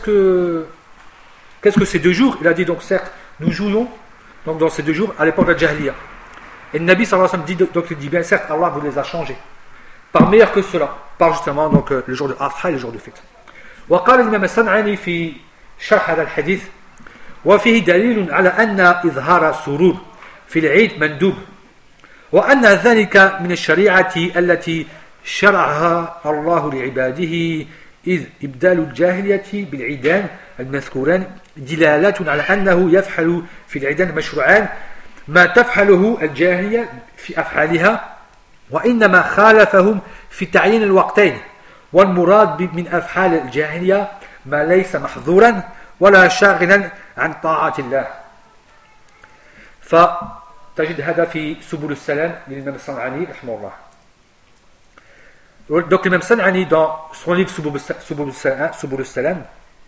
que ces 2 jours? Il a dit donc certes nous jouions donc dans ces 2 jours à l'époque de la Jahiliya. Et le Nabi sallallahu alayhi wa sallam dit donc il dit bien certes Allah vous les a changés par meilleur que cela, par justement donc le jour de Adha et le jour de fête. وقال الإمام الصنعاني في شرح هذا الحديث وفيه دليل على أن إظهار السرور في العيد مندوب وأن ذلك من الشريعة التي شرعها الله لعباده إذ إبدال الجاهلية بالعيدان المذكوران دلالة على أنه يفعل في العيدان المشروعان ما تفعله الجاهلية في أفعالها وإنما خالفهم في تعيين الوقتين والمراد من أفعال الجاهلية ما ليس محظورا ولا شاغلا عن طاعة الله. فتجد هذا في سبل السلام للإمام الصنعاني رحمه الله. Donc l'imam San'ani dans son livre Subul Salam,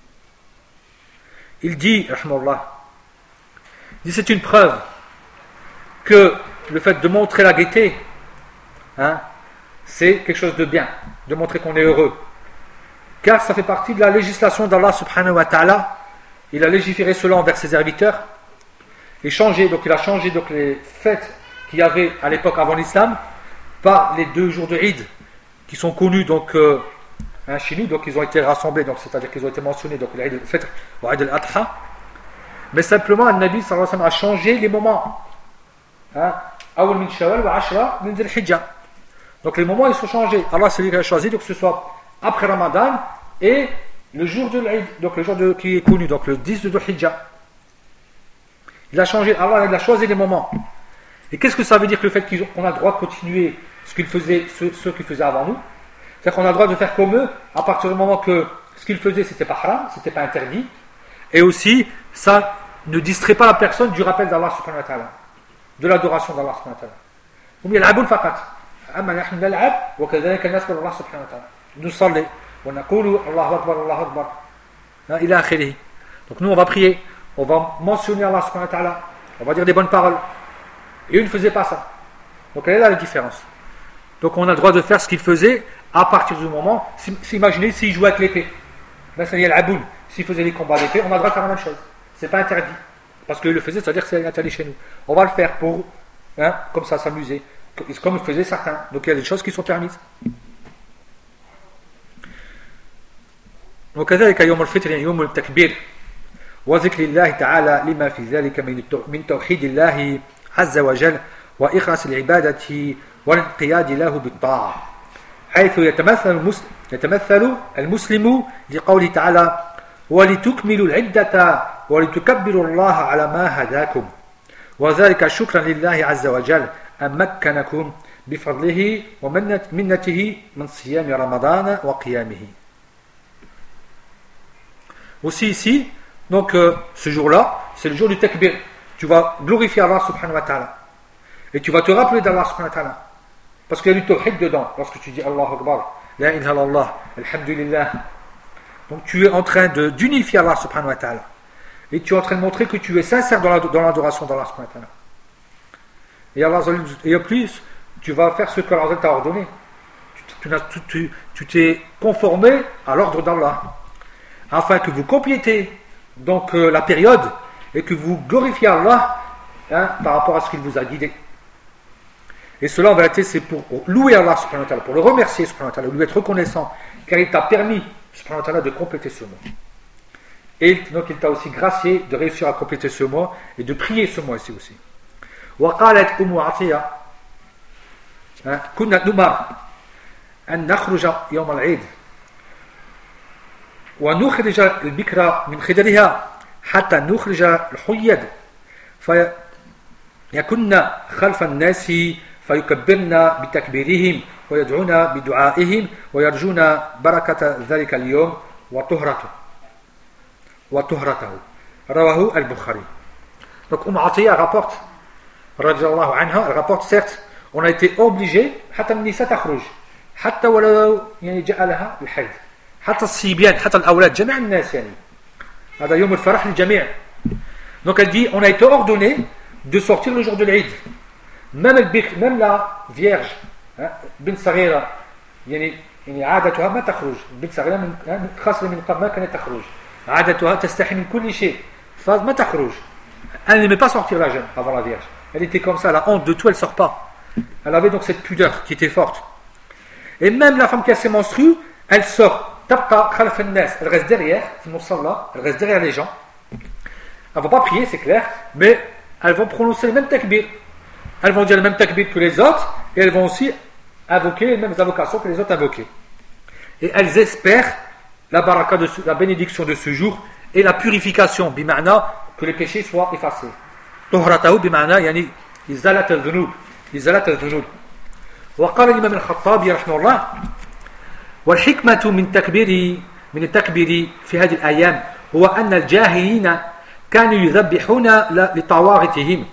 il dit rahmallah, c'est une preuve que le fait de montrer la gaieté, c'est quelque chose de bien, de montrer qu'on est heureux, car ça fait partie de la législation d'Allah subhanahu wa ta'ala. Il a légiféré cela envers ses serviteurs et il a changé donc les fêtes qu'il y avait à l'époque avant l'islam par les 2 jours de Eid qui sont connus donc chez nous, donc ils ont été rassemblés, donc c'est-à-dire qu'ils ont été mentionnés, donc l'Eid al-Fitr ou l'Eid al-Adha, mais simplement le Nabi sallallahu alayhi wa sallam a changé les moments. Awal min Shawwal wa Ashra min Dhul Hijjah. Donc les moments ils sont changés. Allah c'est lui qui a choisi donc que ce soit après Ramadan et le jour de l'Eid, donc le jour qui est connu, donc le 10 de Dhul Hijjah. Il a changé, Allah il a choisi les moments. Et qu'est-ce que ça veut dire que le fait qu'on a le droit de continuer ce qu'ils faisaient, ceux qui faisaient avant nous? C'est-à-dire qu'on a le droit de faire comme eux à partir du moment que ce qu'ils faisaient c'était pas haram, c'était pas interdit. Et aussi, ça ne distrait pas la personne du rappel d'Allah subhanahu wa ta'ala, de l'adoration d'Allah subhanahu wa ta'ala. Hum yal'aboun faqat. Amma nahnu nal'ab wa kadhalika nas'alu Allah subhanahu wa ta'ala. Nous salli wa naqulu Allahu akbar, Allahu akbar. Ila akhirih. Donc nous on va prier, on va mentionner Allah subhanahu wa ta'ala, on va dire des bonnes paroles. Et eux ne faisaient pas ça. Donc elle est là la différence. Donc on a le droit de faire ce qu'ils faisaient à partir du moment, imaginez s'ils jouaient avec l'épée. Ben ça y est l'Aboun. S'ils faisaient les combats d'épée, on a le droit de faire la même chose. C'est pas interdit. Parce qu'ils le faisaient, c'est-à-dire que c'est interdit chez nous. On va le faire pour, comme ça, s'amuser. Comme le faisaient certains. Donc il y a des choses qui sont permises. وكذلك يوم الفطر يوم التكبير وذكر الله تعالى لما في ذلك من توحيد الله عز وجل وإخلاص العبادة والانقياد له بالطاعة حيث يتمثل المسلم لقوله تعالى ولتكملوا العدة ولتكبروا الله على ما هداكم وذلك شكرا لله عز وجل أن مكنكم بفضله ومنته من صيام رمضان وقيامه. Aussi ici, donc ce jour-là, c'est le jour du takbir. Tu vas glorifier Allah subhanahu wa ta'ala. Et tu vas te rappeler d'Allah subhanahu wa ta'ala. Parce qu'il y a du tawhid dedans. Lorsque tu dis Allahu Akbar, La ilaha illallah, Alhamdulillah. Donc tu es en train d'unifier Allah subhanahu wa ta'ala. Et tu es en train de montrer que tu es sincère dans l'adoration d'Allah subhanahu wa ta'ala. Et en plus, tu vas faire ce que Allah t'a ordonné. Tu t'es conformé à l'ordre d'Allah. Afin que vous complétez donc la période et que vous glorifiez Allah par rapport à ce qu'il vous a guidé. Et cela en vérité c'est pour louer Allah subhanahu wa ta'ala, pour le remercier subhanahu wa ta'ala, lui être reconnaissant car il t'a permis subhanahu wa ta'ala de compléter ce mois. Et donc il t'a aussi gracié de réussir à compléter ce mois et de prier ce mois ici aussi. وقالت أم عطية كنا نمر أن نخرج يوم العيد ونخرج البكرة من خدرها حتى نخرج الحيض فيكن خلف الناس فيكبرن بتكبيرهم ويدعون بدعائهم ويرجون بركة ذلك اليوم وطهرته رواه البخاري. Donc Atiyya rapporte radiallahu anha, elle rapporte certes on a été obligé حتى النساء تخرج حتى ولو يعني جاء لها الحيض حتى الصبيان حتى الأولاد جميع الناس يعني هذا يوم الفرح للجميع. Donc elle dit on a été ordonné de sortir le jour de l'Eid, même la vierge بنت صغيرة يعني عادتها ما تخرج بنت صغيرة من خاصة من قبل ما كانت تخرج عادتها تستحي من كل شيء فما تخرج. Elle n'aimait pas sortir la jeune avant la vierge, elle était comme ça, la honte de tout, elle sort pas, elle avait donc cette pudeur qui était forte. Et même la femme qui a ses menstrues, elle sort تبقى خلف الناس, elle reste derrière elle reste derrière les gens, elles vont pas prier c'est clair, mais elles vont prononcer les mêmes takbir, elles vont dire les mêmes takbir que les autres et elles vont aussi invoquer les mêmes invocations que les autres invoquaient et elles espèrent la baraka la bénédiction de ce jour et la purification bima'na que les péchés soient effacés. طهرته بمعنى يعني إزالة الذنوب. وقال الإمام الخطابي رحمه الله والحكمة من التكبير في هذه الأيام هو أن الجاهلين كانوا يذبحون لطواغتهم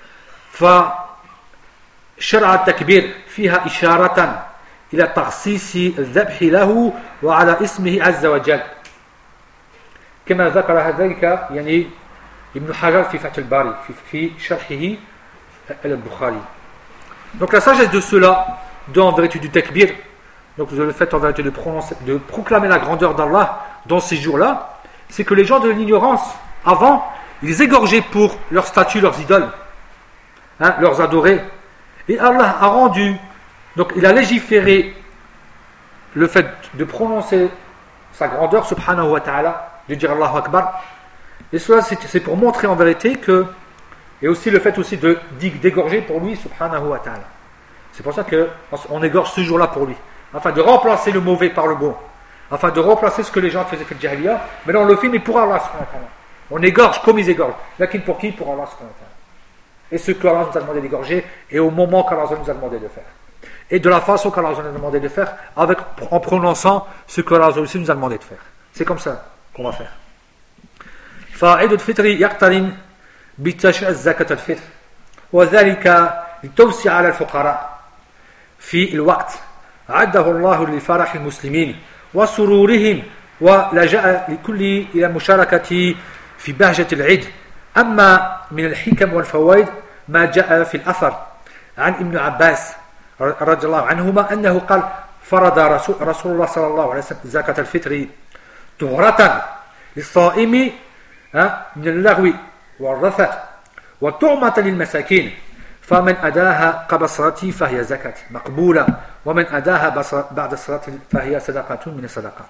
فشرع التكبير فيها إشارة إلى تخصيص الذبح له وعلى اسمه عز وجل كما ذكر ذلك يعني ابن حجر في فتح الباري في شرحه البخاري. Donc la sagesse de cela dans en vérité du takbir, donc le fait en vérité de proclamer la grandeur d'Allah dans ces jours-là, c'est que les gens de l'ignorance avant, ils égorgeaient pour leurs statues, leurs idoles, leurs adorés, et Allah a rendu, donc il a légiféré le fait de prononcer sa grandeur subhanahu wa ta'ala, de dire Allahu Akbar, et cela c'est pour montrer en vérité que, et aussi le fait aussi d'égorger pour lui subhanahu wa ta'ala. C'est pour ça qu'on égorge ce jour-là pour lui, afin de remplacer le mauvais par le bon, afin de remplacer ce que les gens faisaient fait le jahiliya. Mais là on le fait, mais pour Allah subhanahu wa ta'ala. On égorge comme ils égorgent. Lakin pour qui? Pour Allah subhanahu wa ta'ala. Et ce qu'Allah nous a demandé d'égorger, et au moment qu'Allah nous a demandé de faire. Et de la façon qu'Allah nous a demandé de faire, en prononçant ce qu'Allah aussi nous a demandé de faire. C'est comme ça qu'on va faire. فعيد الفطر يقترن بتشريع زكاة الفطر وذلك لتوسع على الفقراء في الوقت عده الله لفرح المسلمين وسرورهم ولجأ لكل إلى المشاركة في بهجة العيد. أما من الحكم والفوائد ما جاء في الأثر عن ابن عباس رضي الله عنهما أنه قال فرض رسول الله صلى الله عليه وسلم زكاة الفطر طهرة للصائم من اللغو والرفث وطعمة للمساكين فمن أداها قبل الصلاة فهي زكاة مقبولة ومن أداها بعد الصلاة فهي صدقة من الصدقات.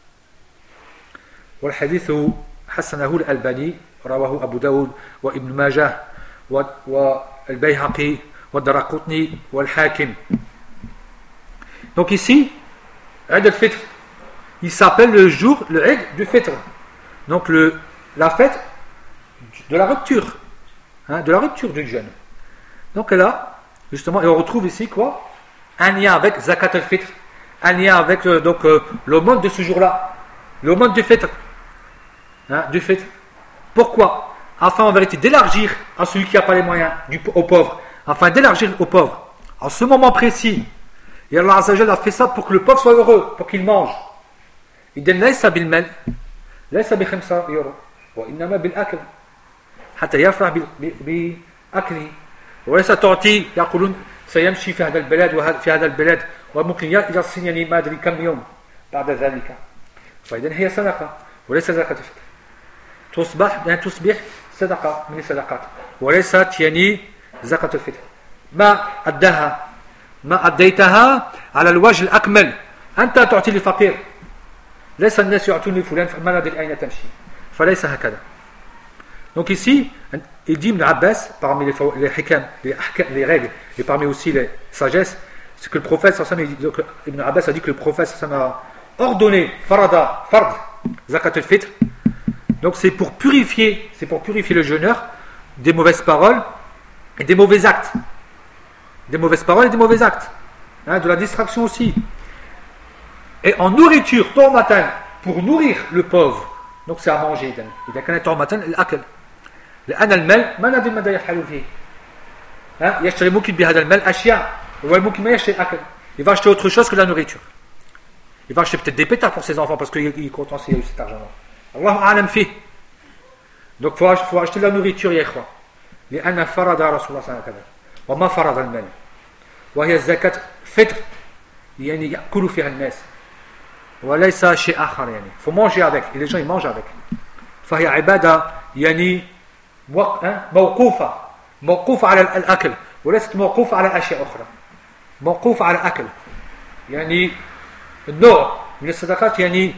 والحديث حسنه الألباني رواه أبو داود وابن ماجه والبيهقي والدرقطني والحاكم. Donc ici, Eid al-Fitr, il s'appelle le Eid du Fitr. Donc la fête de la rupture, de la rupture du jeûne. Donc là, justement, et on retrouve ici quoi? Un lien avec Zakat al-Fitr, un lien avec l'aumône de ce jour-là, l'aumône du Fitr. Du Fitr. Pourquoi? Afin en vérité d'élargir à celui qui n'a pas les moyens, aux pauvres, afin d'élargir aux pauvres. En ce moment précis, et Allah Azza wa Jalla a fait ça pour que le pauvre soit heureux, pour qu'il mange. Il dit laysa bil mal, laysa bi 5 euros, wa innama bil akl, hatta yafrah bi akli. وليس تعطي يقولون سيمشي في هذا البلد وفي هذا البلد وممكن يصل يعني ما ادري كم يوم بعد ذلك. فاذا هي صدقه وليس زكاه الفطر. تصبح صدقه من الصدقات وليست يعني زكاه الفطر. ما أديتها على الوجه الأكمل. أنت تعطي للفقير، ليس الناس يعطون لفلان ما ندري أين تمشي، فليس هكذا. Donc ici, il dit Ibn Abbas, parmi les hikam, les règles, et parmi aussi les sagesses, c'est que le prophète, Ibn Abbas a dit que le prophète a ordonné fard, zakat al-fitr. Donc c'est pour purifier le jeûneur des mauvaises paroles et des mauvais actes. Des mauvaises paroles et des mauvais actes. De la distraction aussi. Et en nourriture, tôt matin, pour nourrir le pauvre. Donc c'est à manger. إذا كان tôt matin الأكل. لأن المال ما ندري ماذا يفعل فيه. يشتري ممكن بهذا المال أشياء. وممكن ما يشتري أكل. Il va acheter autre chose que la nourriture. Il va acheter peut-être des pétards pour ses enfants parce qu'il est content s'il a eu cet argent-là. Allahu a'lam fi. Donc il faut acheter de la nourriture, ya ikhwa. لأن فرض رسول الله صلى الله عليه وسلم وما فرض المال وهي الزكاة فطر يعني يأكل فيها الناس وليس شيء آخر. يعني faut manger avec et les gens ils mangent avec. فهي عبادة يعني موقوفة على الأكل وليست موقوفة على أشياء أخرى. موقوفة على الأكل يعني النوع من الصدقات يعني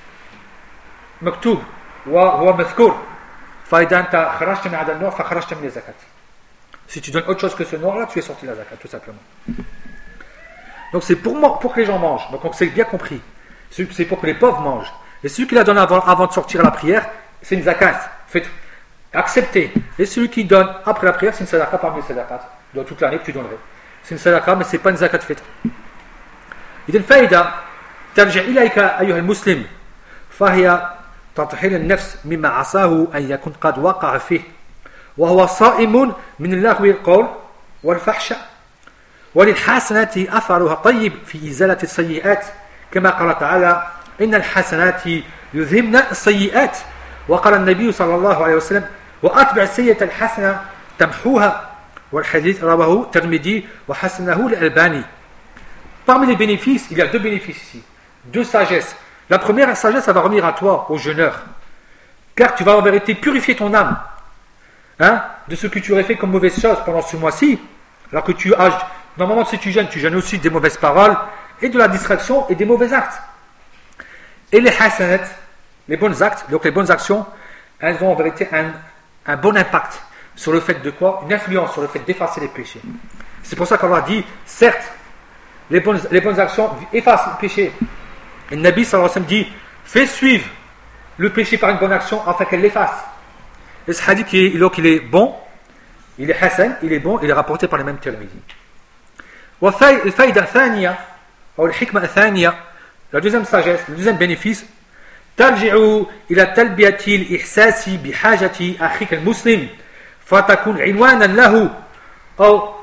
مكتوب وهو مذكور. فإذا أنت خرجت من هذا النوع فخرجت من الزكاة. Si tu donnes autre chose que ce noir-là, tu es sorti de la zakat, tout simplement. Donc c'est pour que les gens mangent. Donc c'est bien compris. C'est pour que les pauvres mangent. Et celui qui la donne avant de sortir à la prière, c'est une zakat. Fait accepter. Et celui qui donne après la prière, c'est une sadaqa parmi les sadaqat. Dans toute l'année que tu donnerais. C'est une sadaqa, mais c'est pas une zakat fitr. إذا الفائدة ترجع إليك أيها المسلم فهي تطهير النفس مما عصاه أن يكون قد وقع فيه وهو صائم من اللغو القول والفحش وللحسنات أثرها طيب في إزالة السيئات كما قال تعالى إن الحسنات يذهبن السيئات وقال النبي صلى الله عليه وسلم وأتبع السيئة الحسنة تمحوها والحديث رواه الترمذي وحسنه الألباني. Parmi les bénéfices, il y a deux bénéfices ici, deux sagesses. La première sagesse, ça va revenir à toi, au jeûneur, car tu vas en vérité purifier ton âme de ce que tu aurais fait comme mauvaise chose pendant ce mois-ci, alors que tu as, normalement si tu jeûnes aussi des mauvaises paroles, et de la distraction et des mauvais actes. Et les hasanat, les bons actes, donc les bonnes actions, elles ont en vérité un bon impact. sur le fait de quoi? Une influence sur le fait d'effacer les péchés. C'est pour ça qu'Allah dit, certes, les bonnes actions effacent le péché. Et le Nabi sallallahu alayhi wa sallam dit, fais suivre le péché par une bonne action afin qu'elle l'efface. Et ce hadith, il est bon, il est hasan, il est bon, il est rapporté par les mêmes Tirmidhi. الفائدة الثانية أو الحكمة الثانية, la deuxième sagesse, le deuxième bénéfice, ترجع إلى تلبية الإحساس بحاجة أخيك المسلم فتكون عنوانا له أو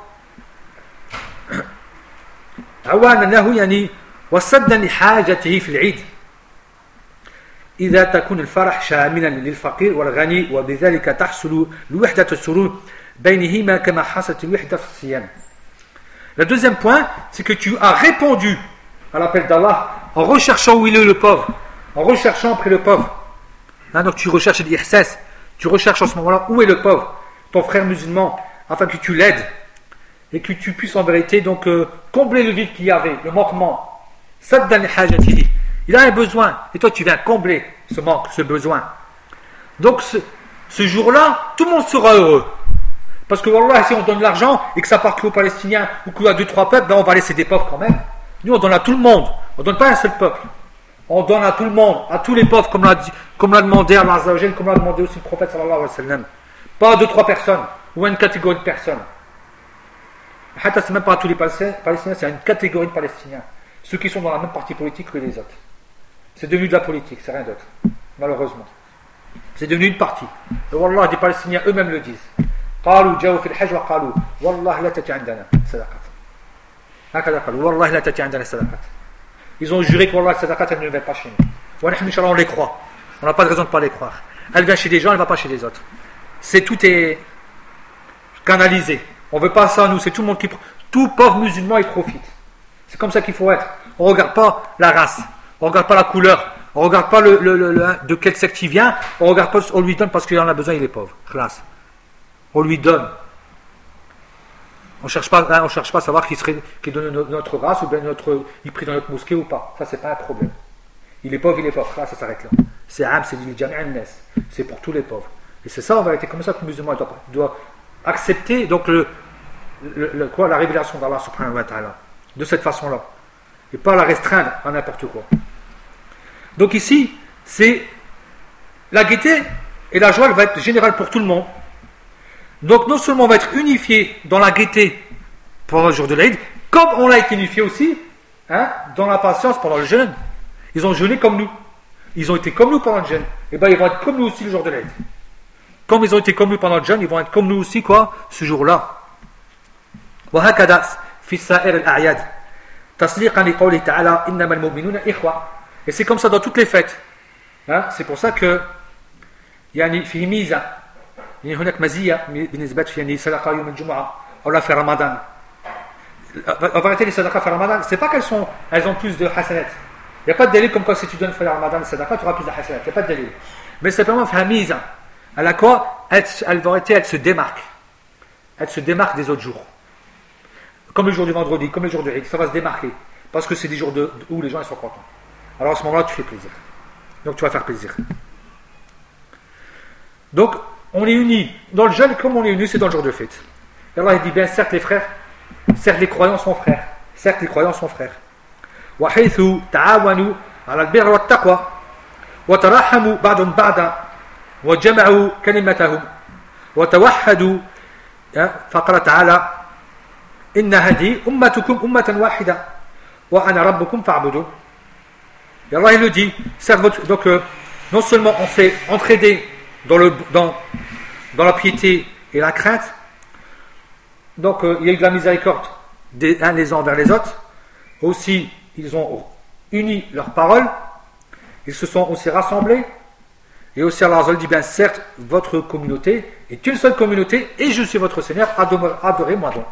عوانا له يعني وسدا لحاجته في العيد إذا تكون الفرح شاملا للفقير والغني وبذلك تحصل الوحدة السرور بينهما كما حصلت الوحدة في الصيام. Le deuxième point, c'est que tu as répondu à l'appel d'Allah en recherchant où il est le pauvre, en recherchant près le pauvre. Donc tu recherches l'ihsas, tu recherches en ce moment-là où est le pauvre, ton frère musulman, afin que tu l'aides et que tu puisses en vérité donc combler le vide qu'il y avait, le manquement. Saddan li hajatihi. Il a un besoin et toi tu viens combler ce manque, ce besoin. Donc ce jour-là, tout le monde sera heureux. Parce que wallah, si on donne l'argent et que ça part qu'aux Palestiniens ou qu'à 2-3 peuples, ben on va laisser des pauvres quand même. Nous on donne à tout le monde, on ne donne pas à un seul peuple. On donne à tout le monde, à tous les pauvres, comme l'a demandé Allah Azza wa Jal, comme l'a demandé aussi le prophète sallallahu alayhi wa sallam. Pas à 2-3 personnes, ou à une catégorie de personnes. Hatta, c'est même pas à tous les Palestiniens, c'est à une catégorie de Palestiniens. Ceux qui sont dans la même partie politique que les autres. C'est devenu de la politique, c'est rien d'autre. Malheureusement. C'est devenu une partie. Et wallah, des Palestiniens eux-mêmes le disent. قالوا جاءوا في الحج وقالوا والله لا تأتي عندنا صدقات هكذا قالوا والله لا تأتي عندنا صدقات. Ils ont juré que wallah la sadaqat elle ne vient pas chez nous. ونحن إن شاء الله on les croit. On n'a pas de raison de ne pas les croire. Elle vient chez des gens, elle ne va pas chez les autres. Tout est canalisé. On ne veut pas ça nous, c'est tout le monde qui tout pauvre musulman il profite. C'est comme ça qu'il faut être. On ne regarde pas la race, on ne regarde pas la couleur, on ne regarde pas de quel secte il vient, on regarde pas, on lui donne parce qu'il en a besoin, il est pauvre. Classe. On lui donne. On ne cherche pas à savoir qui donne notre race ou bien il prie dans notre mosquée ou pas. Ça, c'est pas un problème. Il est pauvre. Là, ça s'arrête là. C'est am, c'est pour tous les pauvres. Et c'est ça, en vérité, comme ça que le musulman doit accepter donc la révélation d'Allah subhanahu wa ta'ala. De cette façon-là. Et pas la restreindre à n'importe quoi. Donc ici, c'est la gaieté et la joie, elle va être générale pour tout le monde. Donc non seulement on va être unifié dans la gaieté pendant le jour de l'Aïd, comme on l'a été unifié aussi dans la patience pendant le jeûne. Ils ont jeûné comme nous. Ils ont été comme nous pendant le jeûne. Et bien ils vont être comme nous aussi le jour de l'Aïd. Comme ils ont été comme nous pendant le jeûne, ils vont être comme nous aussi ce jour-là. وهكذا في سائر الأعياد تصديقا لقوله تعالى إنما المؤمنون إخوة. Et c'est comme ça dans toutes les fêtes. C'est pour ça que يعني في ميزة هناك مزية بالنسبة يعني صدقة يوم الجمعة أو في رمضان. En vérité, les sadaqas في Ramadan, c'est pas elles ont plus de hasanat. Il n'y a pas de délai comme quoi si tu donnes في Ramadan les sadaqas, tu auras plus de hasanat. Il n'y a pas de délai. Mais simplement في ميزة à la quoi elle se démarque. Elle se démarque des autres jours. Comme le jour du vendredi, comme le jour du Eid, ça va se démarquer. Parce que c'est des jours où les gens ils sont contents. Alors à ce moment-là, tu fais plaisir. Donc tu vas faire plaisir. Donc, on est unis. Dans le jeûne, comme on est unis, c'est dans le jour de fête. Et Allah il dit bien, certes les frères, certes les croyants sont frères. Certes les croyants sont frères. وحيث تعاونوا على البر والتقوى وتراحموا بعضهم بعضا وجمعوا كلمتهم وتوحدوا فقال تعالى إن هذه أمتكم أمة واحدة وأنا ربكم فاعبدون. Et Allah il le dit, donc non seulement on s'est entraidé dans la piété et la crainte, donc il y a eu de la miséricorde les uns envers les autres, aussi ils ont uni leurs paroles, ils se sont aussi rassemblés, et aussi Allah dit bien certes votre communauté est une seule communauté et je suis votre Seigneur, adorez-moi donc.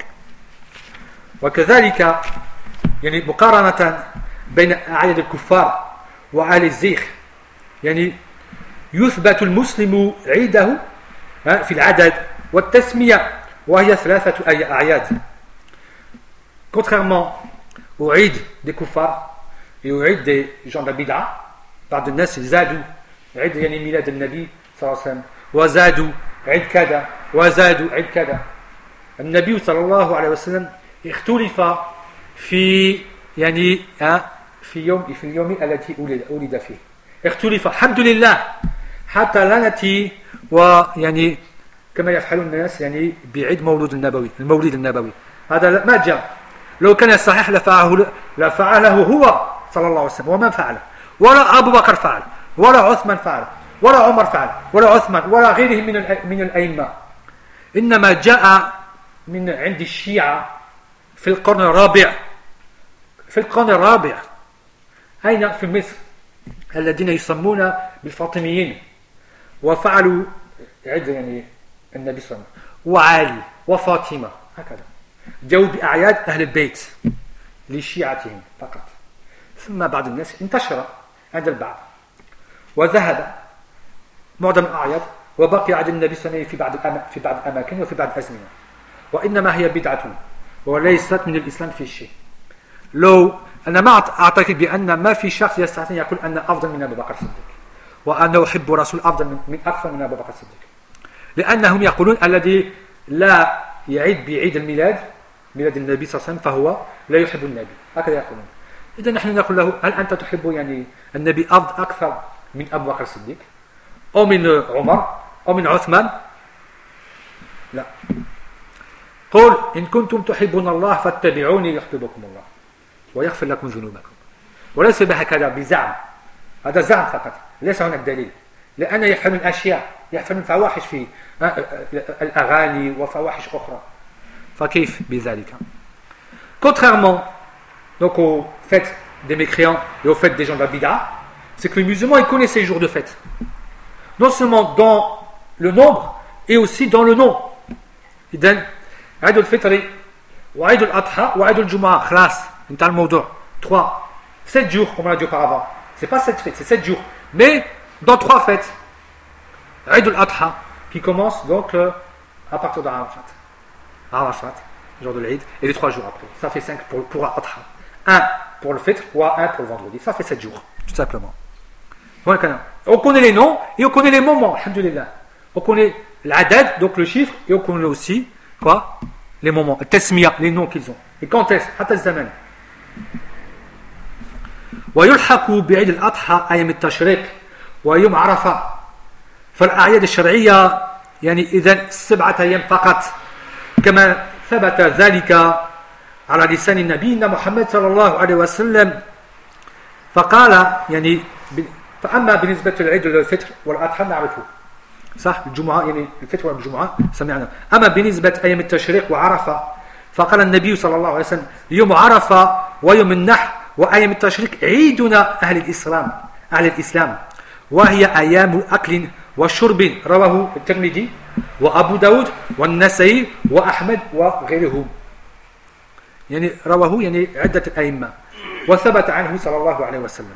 وكذلك يعني مقارنة بين أعياد الكفار وأعياد الزيغ يعني يثبت المسلم عيده في العدد والتسمية وهي 3 أعياد. Contrairement au Eid des kuffars et au Eid des gens de la bid'a, بعض الناس زادوا عيد يعني ميلاد النبي صلى الله عليه وسلم وزادوا عيد كذا وزادوا عيد كذا. النبي صلى الله عليه وسلم اختلف في يعني في اليوم الذي ولد فيه. اختلف الحمد لله حتى لا نأتي ويعني كما يفعل الناس يعني بعيد المولد النبوي. هذا ما جاء. لو كان صحيح لفعله هو صلى الله عليه وسلم ومن فعله، ولا أبو بكر فعل، ولا عثمان فعل، ولا عمر فعل، ولا عثمان، ولا غيرهم من الأئمة. إنما جاء من عند الشيعة في القرن الرابع. أين؟ في مصر، الذين يسمون بالفاطميين، وفعلوا عد يعني النبي صلى الله عليه وسلم وعلي وفاطمة هكذا، جاءوا بأعياد أهل البيت لشيعتهم فقط. ثم بعض الناس انتشر عند البعض وذهب معظم الأعياد، وبقي عند النبي صلى الله عليه وسلم في بعض الأماكن وفي بعض الأزمنة، وإنما هي بدعة وليست من الإسلام في شيء. لو أنا ما أعتقد بأن ما في شخص يستطيع أن يقول أن أفضل من أبو بكر الصديق، وأنه أحب رسول أفضل من أكثر من أبو بكر الصديق، لأنهم يقولون الذي لا يعيد بعيد ميلاد النبي صلى الله عليه وسلم فهو لا يحب النبي، هكذا يقولون. إذا نحن نقول له هل أنت تحب يعني النبي أكثر من أبو بكر الصديق أو من عمر أو من عثمان؟ لا. قل إن كنتم تحبون الله فاتبعوني يحببكم الله ويغفر لكم ذنوبكم. وليس بهكذا بزعم، هذا زعم فقط، ليس هناك دليل، لأن يفعلون أشياء، يفعلون فواحش في الأغاني وفواحش أخرى، فكيف بذلك؟ Contrairement donc aux fêtes des mécréants et aux fêtes des gens de la bid'a, c'est que les musulmans ils connaissent ces jours de fête, non seulement dans le nombre et aussi dans le nom. إذن عيد الفطر وعيد الأضحى وعيد الجمعة خلاص انتهى الموضوع. 7 jours comme on l'a dit auparavant. C'est pas 7 fêtes, c'est 7 jours. Mais dans 3 fêtes, عيد الأضحى qui commence donc à partir de Arafat, jour de l'Eid, et les 3 jours après. Ça fait 5 pour Adha. 1 pour le fitr ou 1 pour le vendredi. Ça fait 7 jours, tout simplement. On connaît les noms et on connaît les moments, alhamdoulilah. On connaît l'adad, donc le chiffre, et on connaît aussi quoi? Les moments, tasmiya, les noms qu'ils ont. Et quand est-ce? Hatta zaman. ويلحق بعيد الأضحى أيام التشريق ويوم عرفة. فالأعياد الشرعية يعني إذن 7 أيام فقط، كما ثبت ذلك على لسان نبينا محمد صلى الله عليه وسلم. فقال يعني فأما بالنسبة للعيد الفطر والأضحى نعرفه صح، الجمعة يعني الفطر والجمعة سمعنا. أما بالنسبة أيام التشريق وعرفة فقال النبي صلى الله عليه وسلم يوم عرفة ويوم النحر وأيام التشريق عيدنا أهل الإسلام وهي أيام أكل وشرب. رواه الترمذي وأبو داود والنسائي وأحمد وغيرهم، يعني رواه يعني عدة الأئمة، وثبت عنه صلى الله عليه وسلم.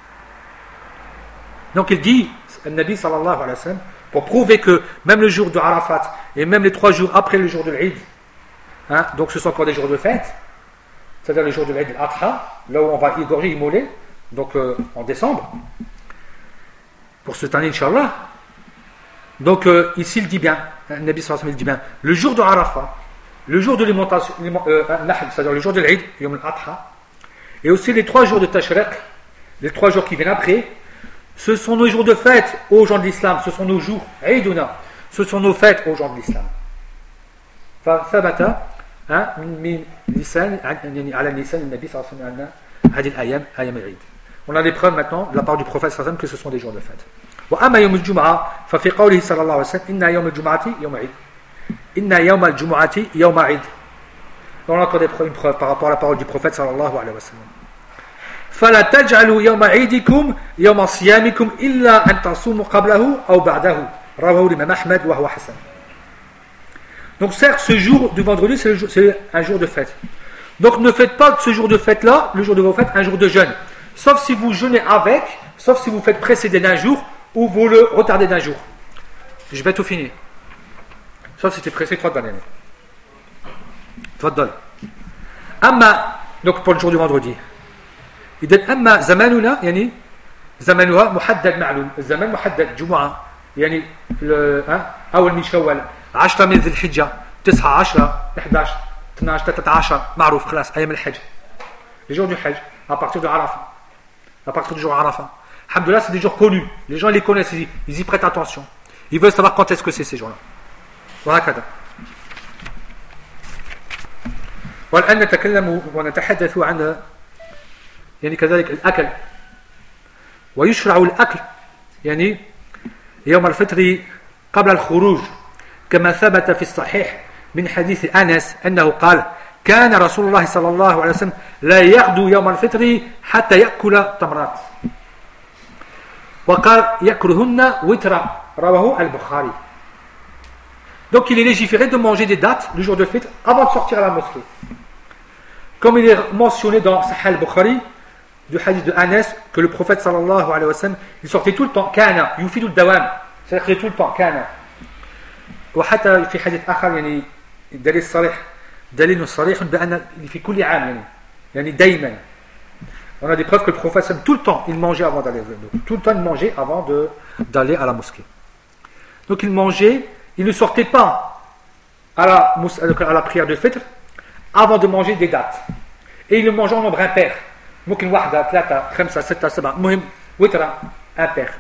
Donc il dit, le Nabi sallallahu alayhi wa sallam, pour prouver que même le jour de Arafat et même les 3 jours après le jour de l'Eid, hein, donc ce sont encore des jours de fête, c'est-à-dire le jour de l'Eid al-Adha, là où on va égorger, immoler, donc en décembre, pour cette année, Inch'Allah. Donc ici il dit bien, le Nabi sallallahu alayhi wa sallam il dit bien, le jour de Arafat, le jour de l'alimentation, c'est-à-dire le jour de l'Eid, Yom al-Adha, et aussi les 3 jours de Tashriq, les 3 jours qui viennent après, ce sont nos jours de fête aux gens de l'islam, ce sont nos jours, Eiduna, ce sont nos fêtes aux gens de l'islam. فثبت من لسان على لسان النبي صلى الله عليه وسلم هذه الأيام أيام العيد. On a des preuves maintenant de la part du prophète sallallahu alayhi wa sallam que ce sont des jours de fête. وأما يوم الجمعة ففي قوله صلى الله عليه وسلم إن يوم الجمعة يوم عيد. إن يوم الجمعة يوم عيد. On a encore une preuve par rapport à la parole du prophète sallallahu alayhi wa sallam. فلا تجعلوا يوم عيدكم يوم صيامكم إلا أن تصوموا قبله أو بعده. رواه الإمام أحمد وهو حسن. Donc certes, ce jour du vendredi, c'est un jour de fête. Donc ne faites pas de ce jour de fête-là, le jour de vos fêtes, un jour de jeûne. Sauf si vous jeûnez avec, sauf si vous faites précéder d'un jour ou vous le retardez d'un jour. Je vais tout finir. Sauf si tu es pressé, toi de l'année. تفضل. أما donc pour le jour du vendredi. إذا أما زماننا يعني زمانها محدد معلوم. الزمان محدد جمعة يعني أول من شوال 10 من ذي الحجة 9 10 11 12 13 معروف خلاص أيام الحج les jours du Hajj à partir de Arafat à partir du jour Arafat alhamdoulilah c'est des jours connus les gens les connaissent ils y prêtent attention ils veulent savoir quand est-ce que c'est ces jours-là وهكذا والآن نتكلم ونتحدث عن يعني كذلك الأكل ويشرع الأكل يعني يوم الفطر قبل الخروج كما ثبت في الصحيح من حديث أنس أنه قال كان رسول الله صلى الله عليه وسلم لا يغدو يوم الفطر حتى يأكل تمرات وقال يأكلهن وترا رواه البخاري. Donc il est légiféré de manger des dates le jour de fête avant de sortir à la mosquée. Comme il est mentionné dans Sahih al-Bukhari du hadith de Anas que le prophète sallallahu alayhi wa sallam il sortait tout le temps kana yufidu al-dawam c'est-à-dire tout le temps kana وحتى في حديث آخر يعني دليل صريح دليل صريح بأن في كل عام يعني دايما on a des preuves que le prophète tout le temps il mangeait avant d'aller tout le temps il mangeait avant d'aller à la mosquée donc il mangeait il ne sortait pas à la prière de fête avant de manger des dates et il le mangeait en nombre impair ممكن واحدة ثلاثة خمسة ستة سبعة مهم وترة impair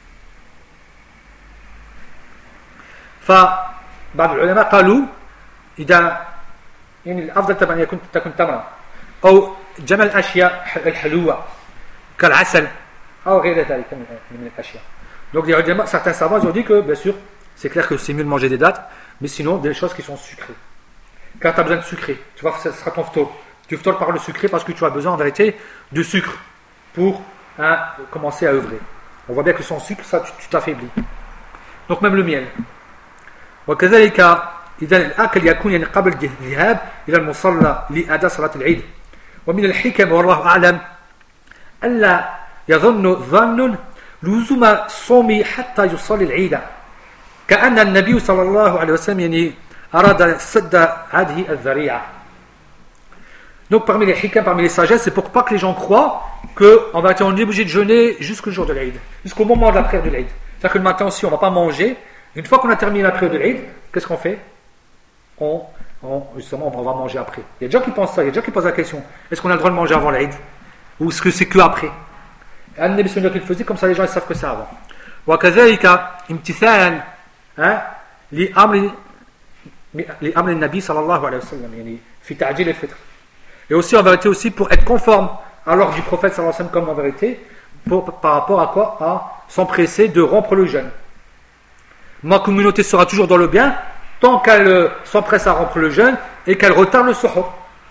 فبعض العلماء قالوا إذا يعني الأفضل طبعا تكون تمرة أو جمع الأشياء الحلوة كالعسل أو غير ذلك من الأشياء. Donc les ulama, certains savants ont dit que bien sûr c'est clair que c'est mieux de manger des dates mais sinon des choses qui sont sucrées. Quand tu as besoin de sucré, tu vois ce sera ton ftour. Tu ftors par le sucré parce que tu as besoin en vérité de sucre pour commencer à œuvrer. On voit bien que sans sucre ça tu t'affaiblis. Donc même le miel. وكذلك إذا الأكل يكون يعني قبل الذهاب إلى المصلى لأداء صلاة العيد ومن الحكم والله أعلم ألا يظن ظن لزوم الصوم حتى يصلي العيد كأن النبي صلى الله عليه وسلم يعني أراد سد هذه الذريعة. Donc parmi les hikam, parmi les sagesses, c'est pour pas que les gens croient qu'en vérité on est obligé de jeûner jusqu'au jour de l'Aïd, jusqu'au moment de la prière de l'Aïd. C'est-à-dire que le matin aussi on ne va pas manger. Une fois qu'on a terminé la prière de l'Aïd, qu'est-ce qu'on fait? Justement, on va manger après. Il y a des gens qui pensent ça, il y a des gens qui posent la question est-ce qu'on a le droit de manger avant l'Aïd? Ou est-ce que c'est que après? Un des missionnaires qu'il faisait, comme ça les gens ils savent que c'est avant. وكذلك امتثالا لأمر النبي صلى الله عليه وسلم يعني في تعجيل الفطر. Et aussi en vérité aussi pour être conforme à l'ordre du prophète sallallahu alayhi wa sallam comme en vérité par rapport à quoi? À s'empresser de rompre le jeûne. Ma communauté sera toujours dans le bien tant qu'elle s'empresse à rompre le jeûne et qu'elle retarde le suhour.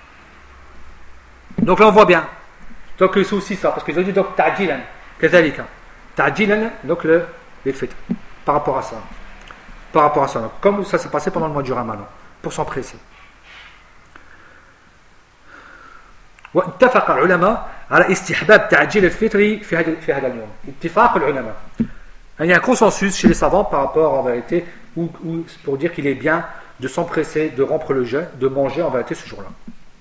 Donc là on voit bien. Donc c'est aussi ça parce qu'ils ont dit donc ta'jilan كذلك ta'jilan donc les fêtes par rapport à ça. Par rapport à ça donc, comme ça s'est passé pendant le mois du Ramadan pour s'empresser. واتفق العلماء على استحباب تعجيل الفطر في هذا اليوم. اتفاق العلماء. Il y a un consensus chez les savants par rapport en vérité ou pour dire qu'il est bien de s'empresser de rompre le jeûne, de manger en vérité ce jour-là.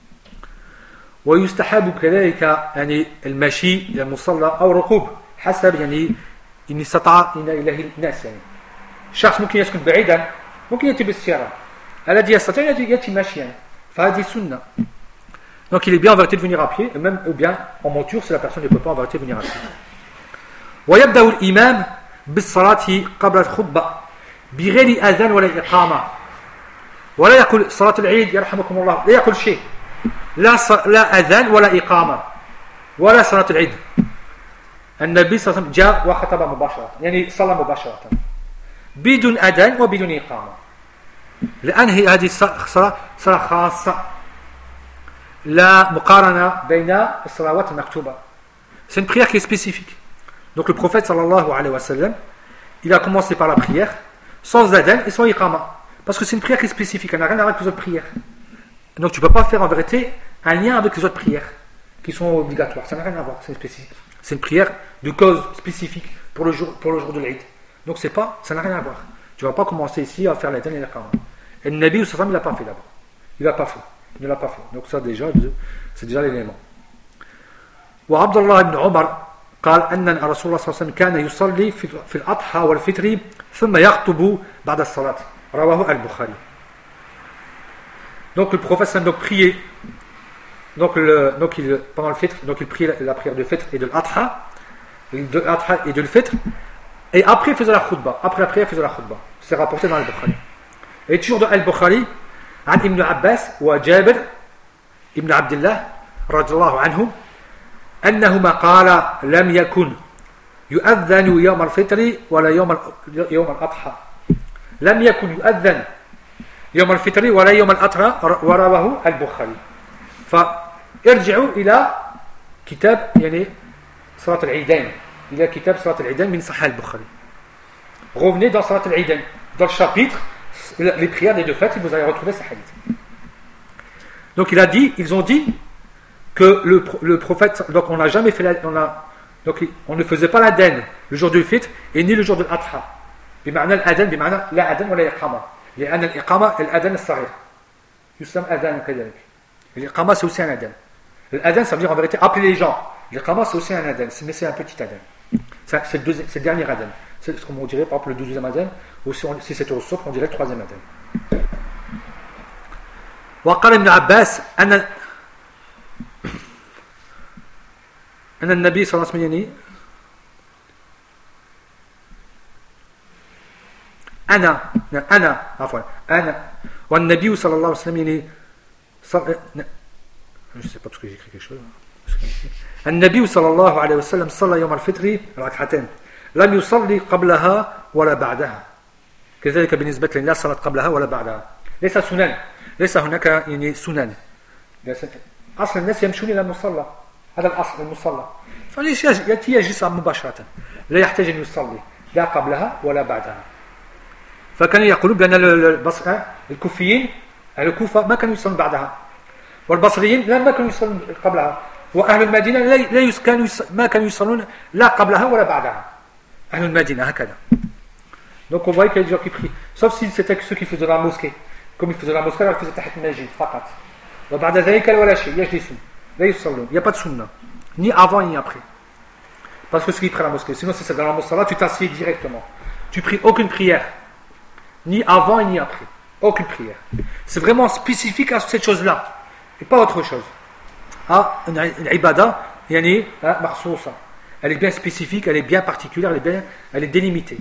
ويستحب كذلك يعني المشي إلى المصلى أو ركوب حسب يعني إن استطاع إليه الناس يعني. شخص ممكن يسكن بعيدا ممكن يأتي بالسيارة. الذي يستطيع يأتي ماشيا فهذه سنة. Donc il est bien en vérité de venir à pied, et même ou bien en monture si la personne ne peut pas en vérité venir à pied. ويبدأ الإمام بالصلاة قبل الخطبة بغير أذان ولا إقامة ولا يقول صلاة العيد يرحمكم الله لا يقول شيء لا أذان ولا إقامة ولا صلاة العيد. النبي صلى الله عليه وسلم جاء وخطب مباشرة يعني صلى مباشرة بدون أذان وبدون إقامة لأن هذه صلاة خاصة لا مقارنة بين الصلوات المكتوبة. C'est une prière qui est spécifique. Donc le prophète sallallahu alayhi wa sallam, il a commencé par la prière sans adhan et sans iqama. Parce que c'est une prière qui est spécifique, elle n'a rien à voir avec les autres prières. Donc tu ne peux pas faire en vérité un lien avec les autres prières qui sont obligatoires. Ça n'a rien à voir, c'est spécifique. C'est une prière de cause spécifique pour le jour de l'Aïd. Donc c'est pas, ça n'a rien à voir. Tu ne vas pas commencer ici à faire l'adhan et l'iqama. Et le Nabi sallallahu alayhi wa sallam, il ne l'a pas fait d'abord. Il ne l'a pas fait. Donc ça déjà, c'est déjà l'élément. وعبد الله بن عمر قال أن الرسول صلى الله عليه وسلم كان يصلي في الأضحى والفطر ثم يخطب بعد الصلاة رواه البخاري. Donc le prophète donc priait pendant le fitr, donc il priait la prière de fitr et de l'adha et de l'fitr, et après il faisait la khutbah, après il faisait la khutbah. C'est rapporté dans al-Bukhari. Et toujours dans al-Bukhari, عن ابن عباس وجابر ابن عبد الله رضي الله عنهم أنهما قال لم يكن يؤذن يوم الفطر ولا يوم الأضحى لم يكن يؤذن يوم الفطر ولا يوم الأضحى ورواه البخاري. فارجعوا إلى كتاب يعني صلاة العيدين إلى كتاب صلاة العيدين من صحيح البخاري. Revenez dans صلاة العيدين, dans le chapitre les prières des deux fêtes, vous allez retrouver ce hadith. Donc ils ont dit que le prophète, donc on n'a jamais fait on ne faisait pas l'adhan le jour du fitr et ni le jour de l'adha. بمعنى الأذان بمعنى لا أذان ولا إقامة. لأن الإقامة الأذان الصغير يسمى أذان كذلك. الإقامة c'est aussi un adhan. L'adhan ça veut dire en vérité appeler les gens. L'Iqama c'est aussi un adhan, mais c'est un petit adhan. C'est le dernier adhan. C'est ce qu'on dirait par exemple le 12e adhan, ou si c'était au souk, on dirait le 3e adhan. وقال ابن عباس أن النبي صلى الله عليه وسلم أنا والنبي صلى الله عليه وسلم je sais pas parce que j'ai écrit quelque chose. النبي صلى الله عليه وسلم صلى يوم الفطر ركعتين لم يصلي قبلها ولا بعدها كذلك بالنسبة لله صلاة قبلها ولا بعدها ليس سنن ليس هناك يعني سنن أصل الناس يمشون إلى المصلى هذا الأصل المصلى فليش يجلس مباشرة لا يحتاج أن يصلي لا قبلها ولا بعدها فكان يقولون بأن الكوفيين أهل الكوفة ما كانوا يصلون بعدها والبصريين ما كانوا يصلون قبلها وأهل المدينة ما كانوا يصلون لا قبلها ولا بعدها أهل المدينة هكذا. Donc on voit qu'il y a des gens qui prient, sauf si c'était ceux qui faisaient la mosquée, comme ils faisaient la mosquée alors ils faisaient تحت المسجد فقط. وبعد ذلك ولا شيء يجلسون لا يصلون. Il n'y a pas de sunna ni avant ni après. Parce que ceux qui prient la mosquée, sinon si c'est dans la mosquée tu t'assieds directement. Tu pries aucune prière ni avant ni après. Aucune prière. C'est vraiment spécifique à cette chose-là et pas autre chose. Ah, une ibada, yani makhsousa. Elle est bien spécifique, elle est bien particulière, elle est délimitée.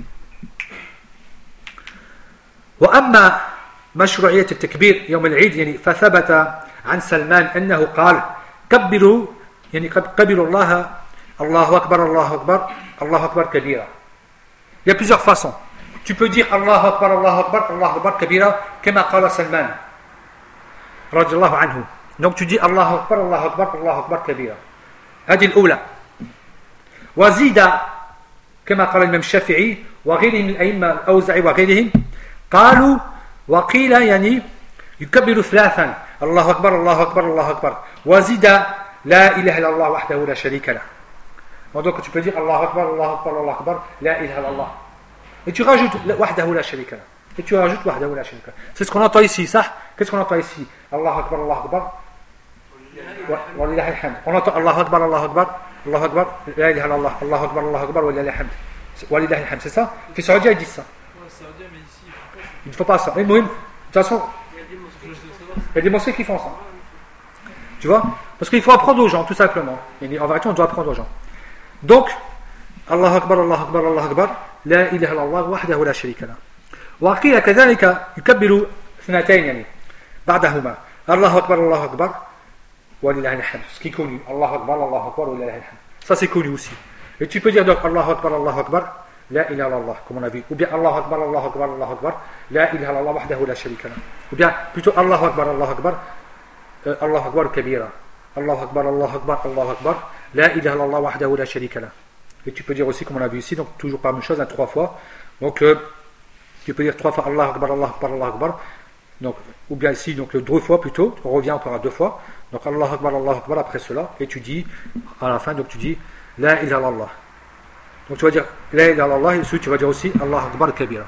وأما مشروعية التكبير يوم العيد يعني فثبت عن سلمان أنه قال كبروا يعني كبروا الله أكبر الله أكبر الله أكبر كبيرا. Il y a plusieurs façons. Tu peux dire Allah Akbar, Allah Akbar, Allah Akbar kabira, comme قال سلمان رضي الله عنه. Donc tu dis Allah Akbar, Allah Akbar, Allah Akbar kabira. هذه الأولى. وزيد كما قال الإمام الشافعي وغيرهم من الأئمة الأوزاعي وغيرهم قالوا وقيل يعني يكبر ثلاثا الله أكبر الله أكبر الله أكبر وزيد لا إله إلا الله وحده لا شريك له. Donc tu peux dire Allah Akbar, Allah Akbar, Allah Akbar, la ilaha illallah. Et tu rajoutes wahdahu la sharika lah. Et tu rajoutes wahdahu la sharika lah. C'est ce qu'on entend ici, ça. Qu'est-ce qu'on entend ici? Allah Akbar, Allah Akbar. Wa lillahi alhamd. On entend Allah Akbar, Allah Akbar, Allah Akbar, la ilaha illallah, Allah Akbar, Allah Akbar, wa lillahi alhamd. Wa lillahi alhamd, c'est ça? Fi Saoudia, ils disent ça. Il ne faut pas ça. Mais de toute façon, il y a des mosquées qui font ça. Tu vois? Parce qu'il faut apprendre aux gens, tout simplement. En vérité, on doit apprendre aux gens. Donc, Allah Akbar, Allah Akbar, Allah Akbar, لا إله إلا الله وحده لا شريك له. وقيل كذلك يكبر اثنتين يعني بعدهما الله أكبر الله أكبر ولله الحمد. Ce qui est connu, Allah Akbar, Allah Akbar, ولله الحمد. Ça c'est connu aussi. Et tu peux dire donc Allah Akbar, Allah Akbar, لا إله إلا الله comme on a vu. Ou bien Allah Akbar, Allah Akbar, Allah Akbar, لا إله إلا الله وحده لا شريك له. Ou bien plutôt Allah Akbar, Allah Akbar, Allah Akbar كبيرا. الله أكبر الله أكبر الله أكبر لا إله إلا الله وحده لا شريك له. Et tu peux dire aussi, comme on a vu ici, donc toujours pas la même chose, 3 fois. Donc, tu peux dire 3 fois Allah Akbar, Allah Akbar, Allah Akbar. Donc, ou bien ici, donc 2 fois plutôt. On revient encore à 2 fois. Donc, Allah Akbar après cela. Et tu dis, à la fin, donc tu dis La ilaha illallah. Donc, tu vas dire La ilaha illallah. Et ensuite, tu vas dire aussi Allah Akbar kabira.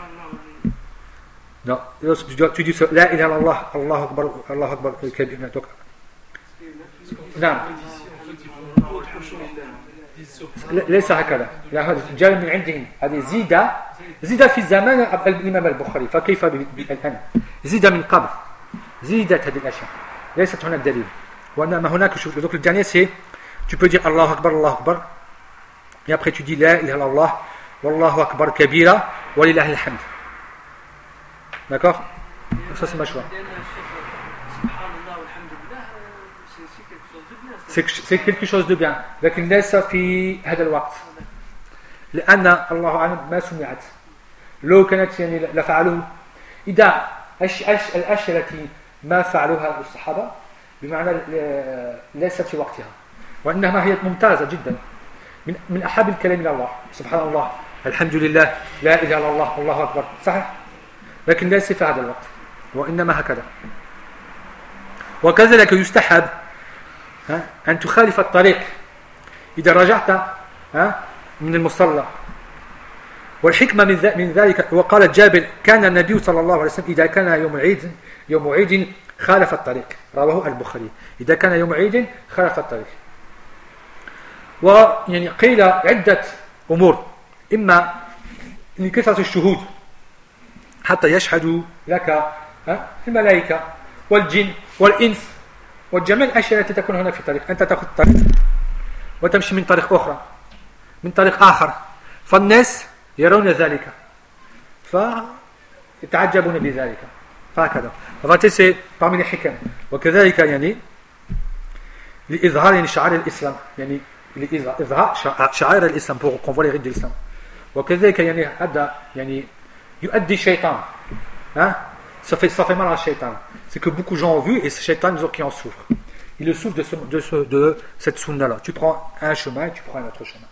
Non, tu dis La ilaha illallah, Allah Akbar kabira. Donc, non. ليس هكذا، هذا جاء من عندهم، هذه زيد في زمان الإمام البخاري، فكيف الآن؟ زيد من قبل، زيدت هذه الأشياء، ليست هناك دليل. وإنما هناك donc le dernier c'est tu peux dire Allahu Akbar et après tu dis la ilaha illallah wallahu akbar kabira walillahi alhamd. D'accord? Ça c'est ma choix. C'est quelque chose de bien لكن ليس في هذا الوقت لأن الله أعلم ما سمعت. لو كانت يعني لفعلوه إذا الأشياء التي ما فعلوها الصحابة بمعنى ليست في وقتها، وإنما هي ممتازة جدا من أحب الكلام إلى الله، سبحان الله الحمد لله لا إله إلا الله الله أكبر، صحيح، لكن ليس في هذا الوقت، وإنما هكذا. وكذلك يستحب أن تخالف الطريق إذا رجعت من المصلى. والحكمة من ذلك، وقال جابر كان النبي صلى الله عليه وسلم إذا كان يوم عيد خالف الطريق، رواه البخاري، إذا كان يوم عيد خالف الطريق. ويعني قيل عدة أمور، إما لكثرة الشهود حتى يشهدوا لك الملائكة والجن والإنس وجميع الأشياء التي تكون هناك في الطريق، أنت تأخذ الطريق وتمشي من طريق أخرى من طريق آخر، فالناس يرون ذلك فيتعجبون بذلك، فهكذا. فهذا parmi les حكم. وكذلك يعني لإظهار يعني شعائر الإسلام، يعني لإظهار شعائر الإسلام pour qu'on voit les rites de l'islam. وكذلك يعني هذا يعني يؤدي الشيطان ça fait mal à Shaitan. C'est que beaucoup de gens ont vu et c'est Shaitan qui en souffre. Il le souffre de cette sunna là. Tu prends un chemin et tu prends un autre chemin.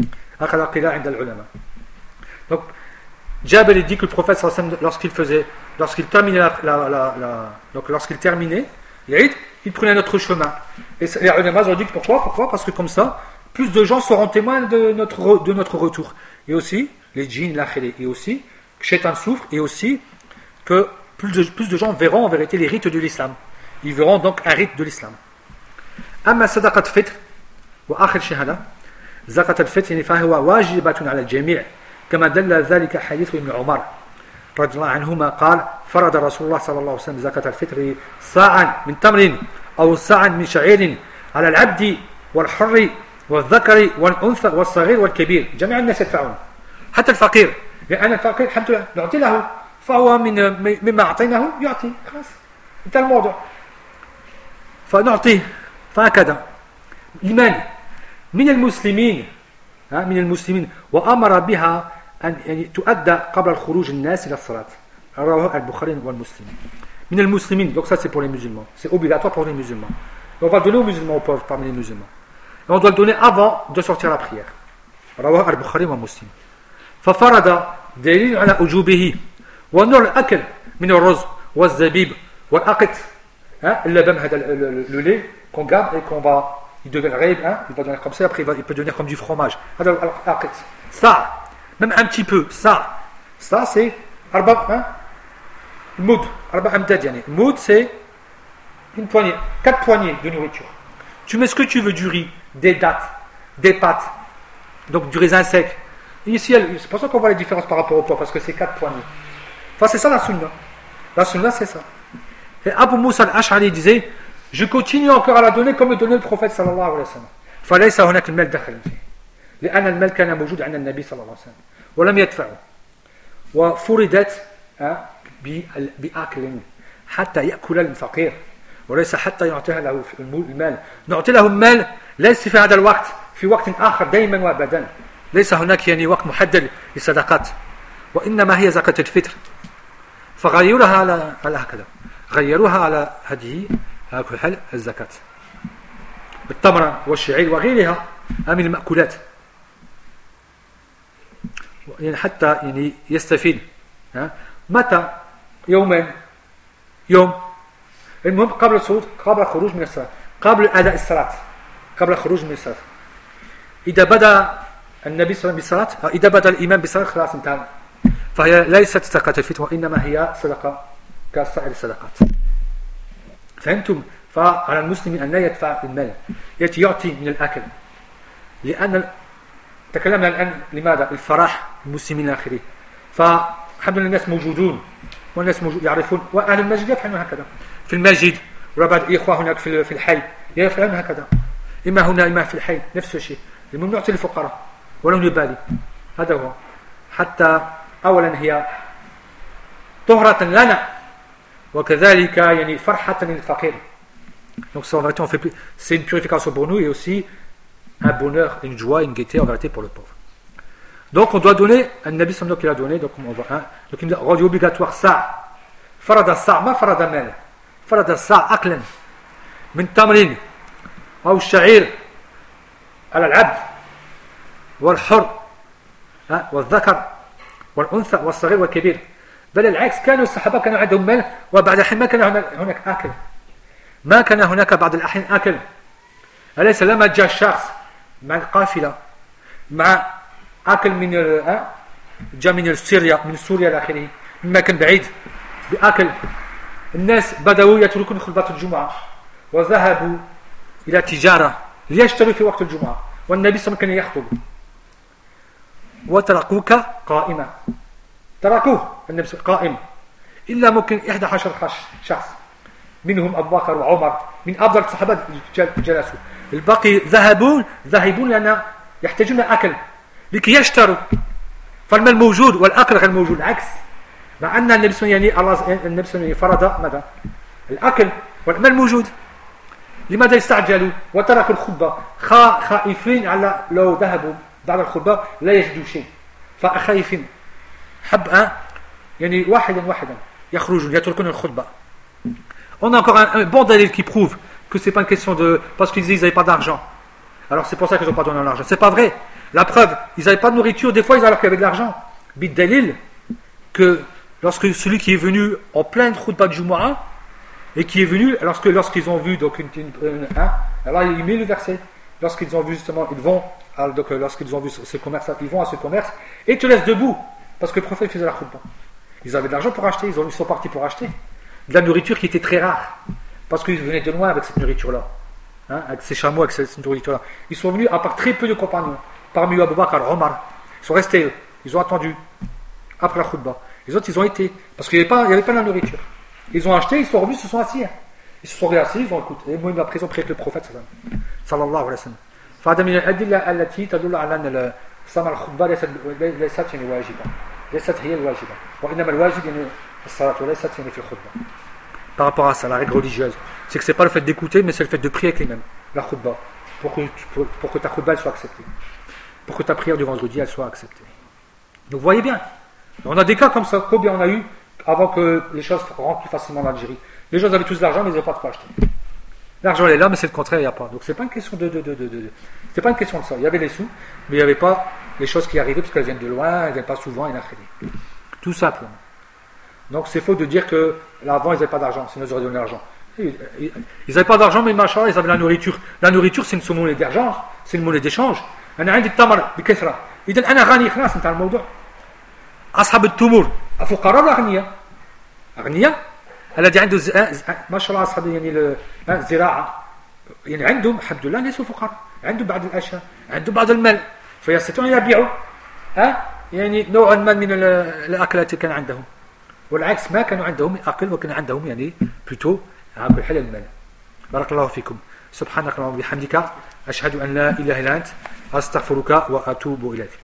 Donc Jabir dit que le prophète lorsqu'il terminait lorsqu'il terminait l'Eid, il prenait un autre chemin. Et les ulama ont dit que pourquoi? Parce que comme ça, plus de gens seront témoins de notre retour. Et aussi les djinns, l'akhiré, et aussi que Shaitan souffre, et aussi que plus de gens verront en vérité les rites de l'islam. Ils verront donc un rite de l'islam. أما صدقة الفطر وآخر شهادة زكاة الفطر يعني فهو واجبة على الجميع كما دل ذلك حديث ابن عمر رضي الله عنهما قال فرض رسول الله صلى الله عليه وسلم زكاة الفطر صاعا من تمر أو صاعا من شعير على العبد والحر والذكر والأنثى والصغير والكبير، جميع الناس يدفعون حتى الفقير، لأن الفقير الحمد لله نعطي له فهو مما أعطيناه يعطي، خلاص انتهى الموضوع، فنعطيه. فهكذا لمن من المسلمين وأمر بها أن يعني تؤدى قبل الخروج الناس إلى الصلاة، رواه البخاري والمسلم. من المسلمين، donc ça c'est pour les musulmans, c'est obligatoire pour les musulmans. Et on va donner aux musulmans, aux pauvres parmi les musulmans. Et on doit le donner avant de sortir la prière. رواه البخاري ومسلم. ففرض دليل على وجوبه ونوع الأكل من الرز والزبيب والأقط، اللبن هذا le lait qu'on garde et qu'on va, il devient il va devenir comme ça, après il peut devenir comme du fromage. Ça, même un petit peu, ça c'est moud, moud c'est une poignée, 4 poignées de nourriture. Tu mets ce que tu veux, du riz, des dattes, des pâtes, donc du raisin sec. Et ici, c'est pour ça qu'on voit les différences par rapport au poids, parce que c'est 4 poignées. Enfin, c'est ça la sunna. La sunna, c'est ça. Et Abu Musa al-Ash'ari disait, je continue encore à la donner comme le donnait le prophète sallallahu alayhi wa sallam. فليس هناك المال دخل فيه لأن المال كان موجود عند النبي صلى الله عليه وسلم ولم يدفعه وفرضت بأكل حتى يأكل الفقير وليس حتى يعطيها له المال. نعطي له المال ليس في هذا الوقت، في وقت آخر دائما وأبدا، ليس هناك يعني وقت محدد للصدقات، وإنما هي زكاة الفطر. فغيروها على هكذا، غيروها على هذه حال الزكاة بالتمر والشعير وغيرها من المأكولات، يعني حتى يعني يستفيد. متى؟ يوم المهم قبل الخروج من الصلاة، قبل أداء الصلاة، قبل الخروج من الصلاة. إذا بدأ النبي صلى الله عليه وسلم بالصلاة، إذا بدأ الإمام بالصلاة خلاص انتهى، فهي ليست زكاة الفطر وإنما هي صدقة كسائر الصدقات. فهمتم؟ فعلى المسلم أن لا يدفع المال، يعطي من الأكل، لأن تكلمنا الآن لماذا؟ الفرح المسلمين إلى آخره. فالحمد لله الناس موجودون والناس يعرفون، وأهل المسجد يفعلون هكذا في المسجد، وبعض الإخوة هناك في الحي يفعلون هكذا، إما هنا إما في الحي نفس الشيء. الممنوع للفقراء ولو نبالي، هذا هو. حتى أولا هي طهرة لنا، وكذلك يعني فرحة للفقير. Donc ça, en vérité, c'est une purification pour nous et aussi un bonheur, une joie, une gaieté en vérité pour le pauvre. Donc on doit donner, un Nabi sallallahu qu'il a donné, donc on voit un, donc il rendu obligatoire ça. Farada sa, ma farada mal. Farada sa aklan min tamrin ou sha'ir على العبد والحر والذكر والأنثى والصغير والكبير. بل العكس، كانوا الصحابة كانوا عندهم مال، وبعد الحين ما كان هناك أكل، ما كان هناك بعض الأحيان أكل. أليس لما جاء الشخص مع القافلة مع أكل من جاء من سوريا إلى آخره، من مكان بعيد بأكل، الناس بدأوا يتركون خطبة الجمعة وذهبوا إلى تجارة ليشتروا في وقت الجمعة، والنبي صلى الله عليه وسلم كان يخطب وتركوك قائما، تركوه النبي قائم، إلا ممكن 11 شخص منهم أبو بكر وعمر من أفضل الصحابة جلسوا، الباقي ذاهبون لأن يحتاجون أكل لكي يشتروا، فالمال موجود والأكل غير موجود. العكس، مع أن النبي صلى الله عليه وسلم فرض ماذا؟ الأكل والمال موجود. لماذا يستعجلوا وتركوا الخطبة خائفين على لو ذهبوا بعد الخطبة لا يجدوا شيء، فخائفين حب يعني واحدا يخرجون يتركون الخطبة. On a encore un bon dalil qui prouve que c'est pas une question de parce qu'ils disent ils n'avaient pas d'argent, alors c'est pour ça qu'ils n'ont pas donné l'argent. C'est pas vrai. La preuve, ils n'avaient pas de nourriture, des fois ils alors qu'il y avait de l'argent. Bid dalil que lorsque celui qui est venu en pleine khutbah de Jumu'ah et qui est venu lorsqu'ils ont vu donc alors il met le verset, lorsqu'ils ont vu justement ils vont donc lorsqu'ils ont vu ce commerce, ils vont à ce commerce et ils te laissent debout parce que le prophète faisait la khutbah. Ils avaient de l'argent pour acheter, ils sont partis pour acheter de la nourriture qui était très rare parce qu'ils venaient de loin avec cette nourriture là, avec ces chameaux, avec cette nourriture là. Ils sont venus à part très peu de compagnons, parmi eux Abu Bakr, Omar, ils sont restés, ils ont attendu après la khutbah. Les autres ils ont été parce qu'il n'y avait pas de la nourriture. Ils ont acheté, ils sont revenus, ils se sont assis. Ils se sont assis, ils ont écouté. Et moi, après, ils ont prié avec le prophète sallallahu alayhi wa sallam. فهذا من الأدلة التي تدل على أن سماع الخطبة ليست يعني واجبة، ليست هي الواجبة، وإنما الواجب يعني الصلاة وليست يعني في الخطبة. Par rapport à ça, la règle religieuse, c'est que c'est pas le fait d'écouter, mais c'est le fait de prier avec les mêmes, la khutbah, pour que ta khutbah elle soit acceptée, pour que ta prière du vendredi elle soit acceptée. Donc vous voyez bien, on a des cas comme ça, combien on a eu avant que les choses rentrent plus facilement en Algérie. Les gens avaient tous de l'argent, mais ils n'avaient pas de quoi acheter. L'argent est là, mais c'est le contraire, il n'y a pas. Donc c'est pas une question c'est pas une question de ça. Il y avait les sous, mais il n'y avait pas les choses qui arrivaient parce qu'elles viennent de loin, elles ne viennent pas souvent, et tout simplement. Donc c'est faux de dire que avant ils n'avaient pas d'argent, sinon ils auraient donné l'argent. Ils n'avaient pas d'argent, mais machin, ils avaient la nourriture. La nourriture, c'est une monnaie d'argent, c'est une monnaie d'échange. أنا عندي التمر بكثرة، إذا أنا غني خلاص انتهى الموضوع. أصحاب التمور الفقراء ولا أغنياء الذي عنده ما شاء الله أصحاب يعني الزراعة يعني عندهم الحمد لله ليسوا فقراء، عندهم بعض الأشياء، عندهم بعض المال فيستطيعون أن يبيعوا يعني نوعا ما من الأكلات كان عندهم، والعكس ما كانوا عندهم أكل وكان عندهم يعني بلوتو بالحلال المال. بارك الله فيكم. سبحانك اللهم وبحمدك أشهد أن لا إله إلا أنت أستغفرك وأتوب إليك.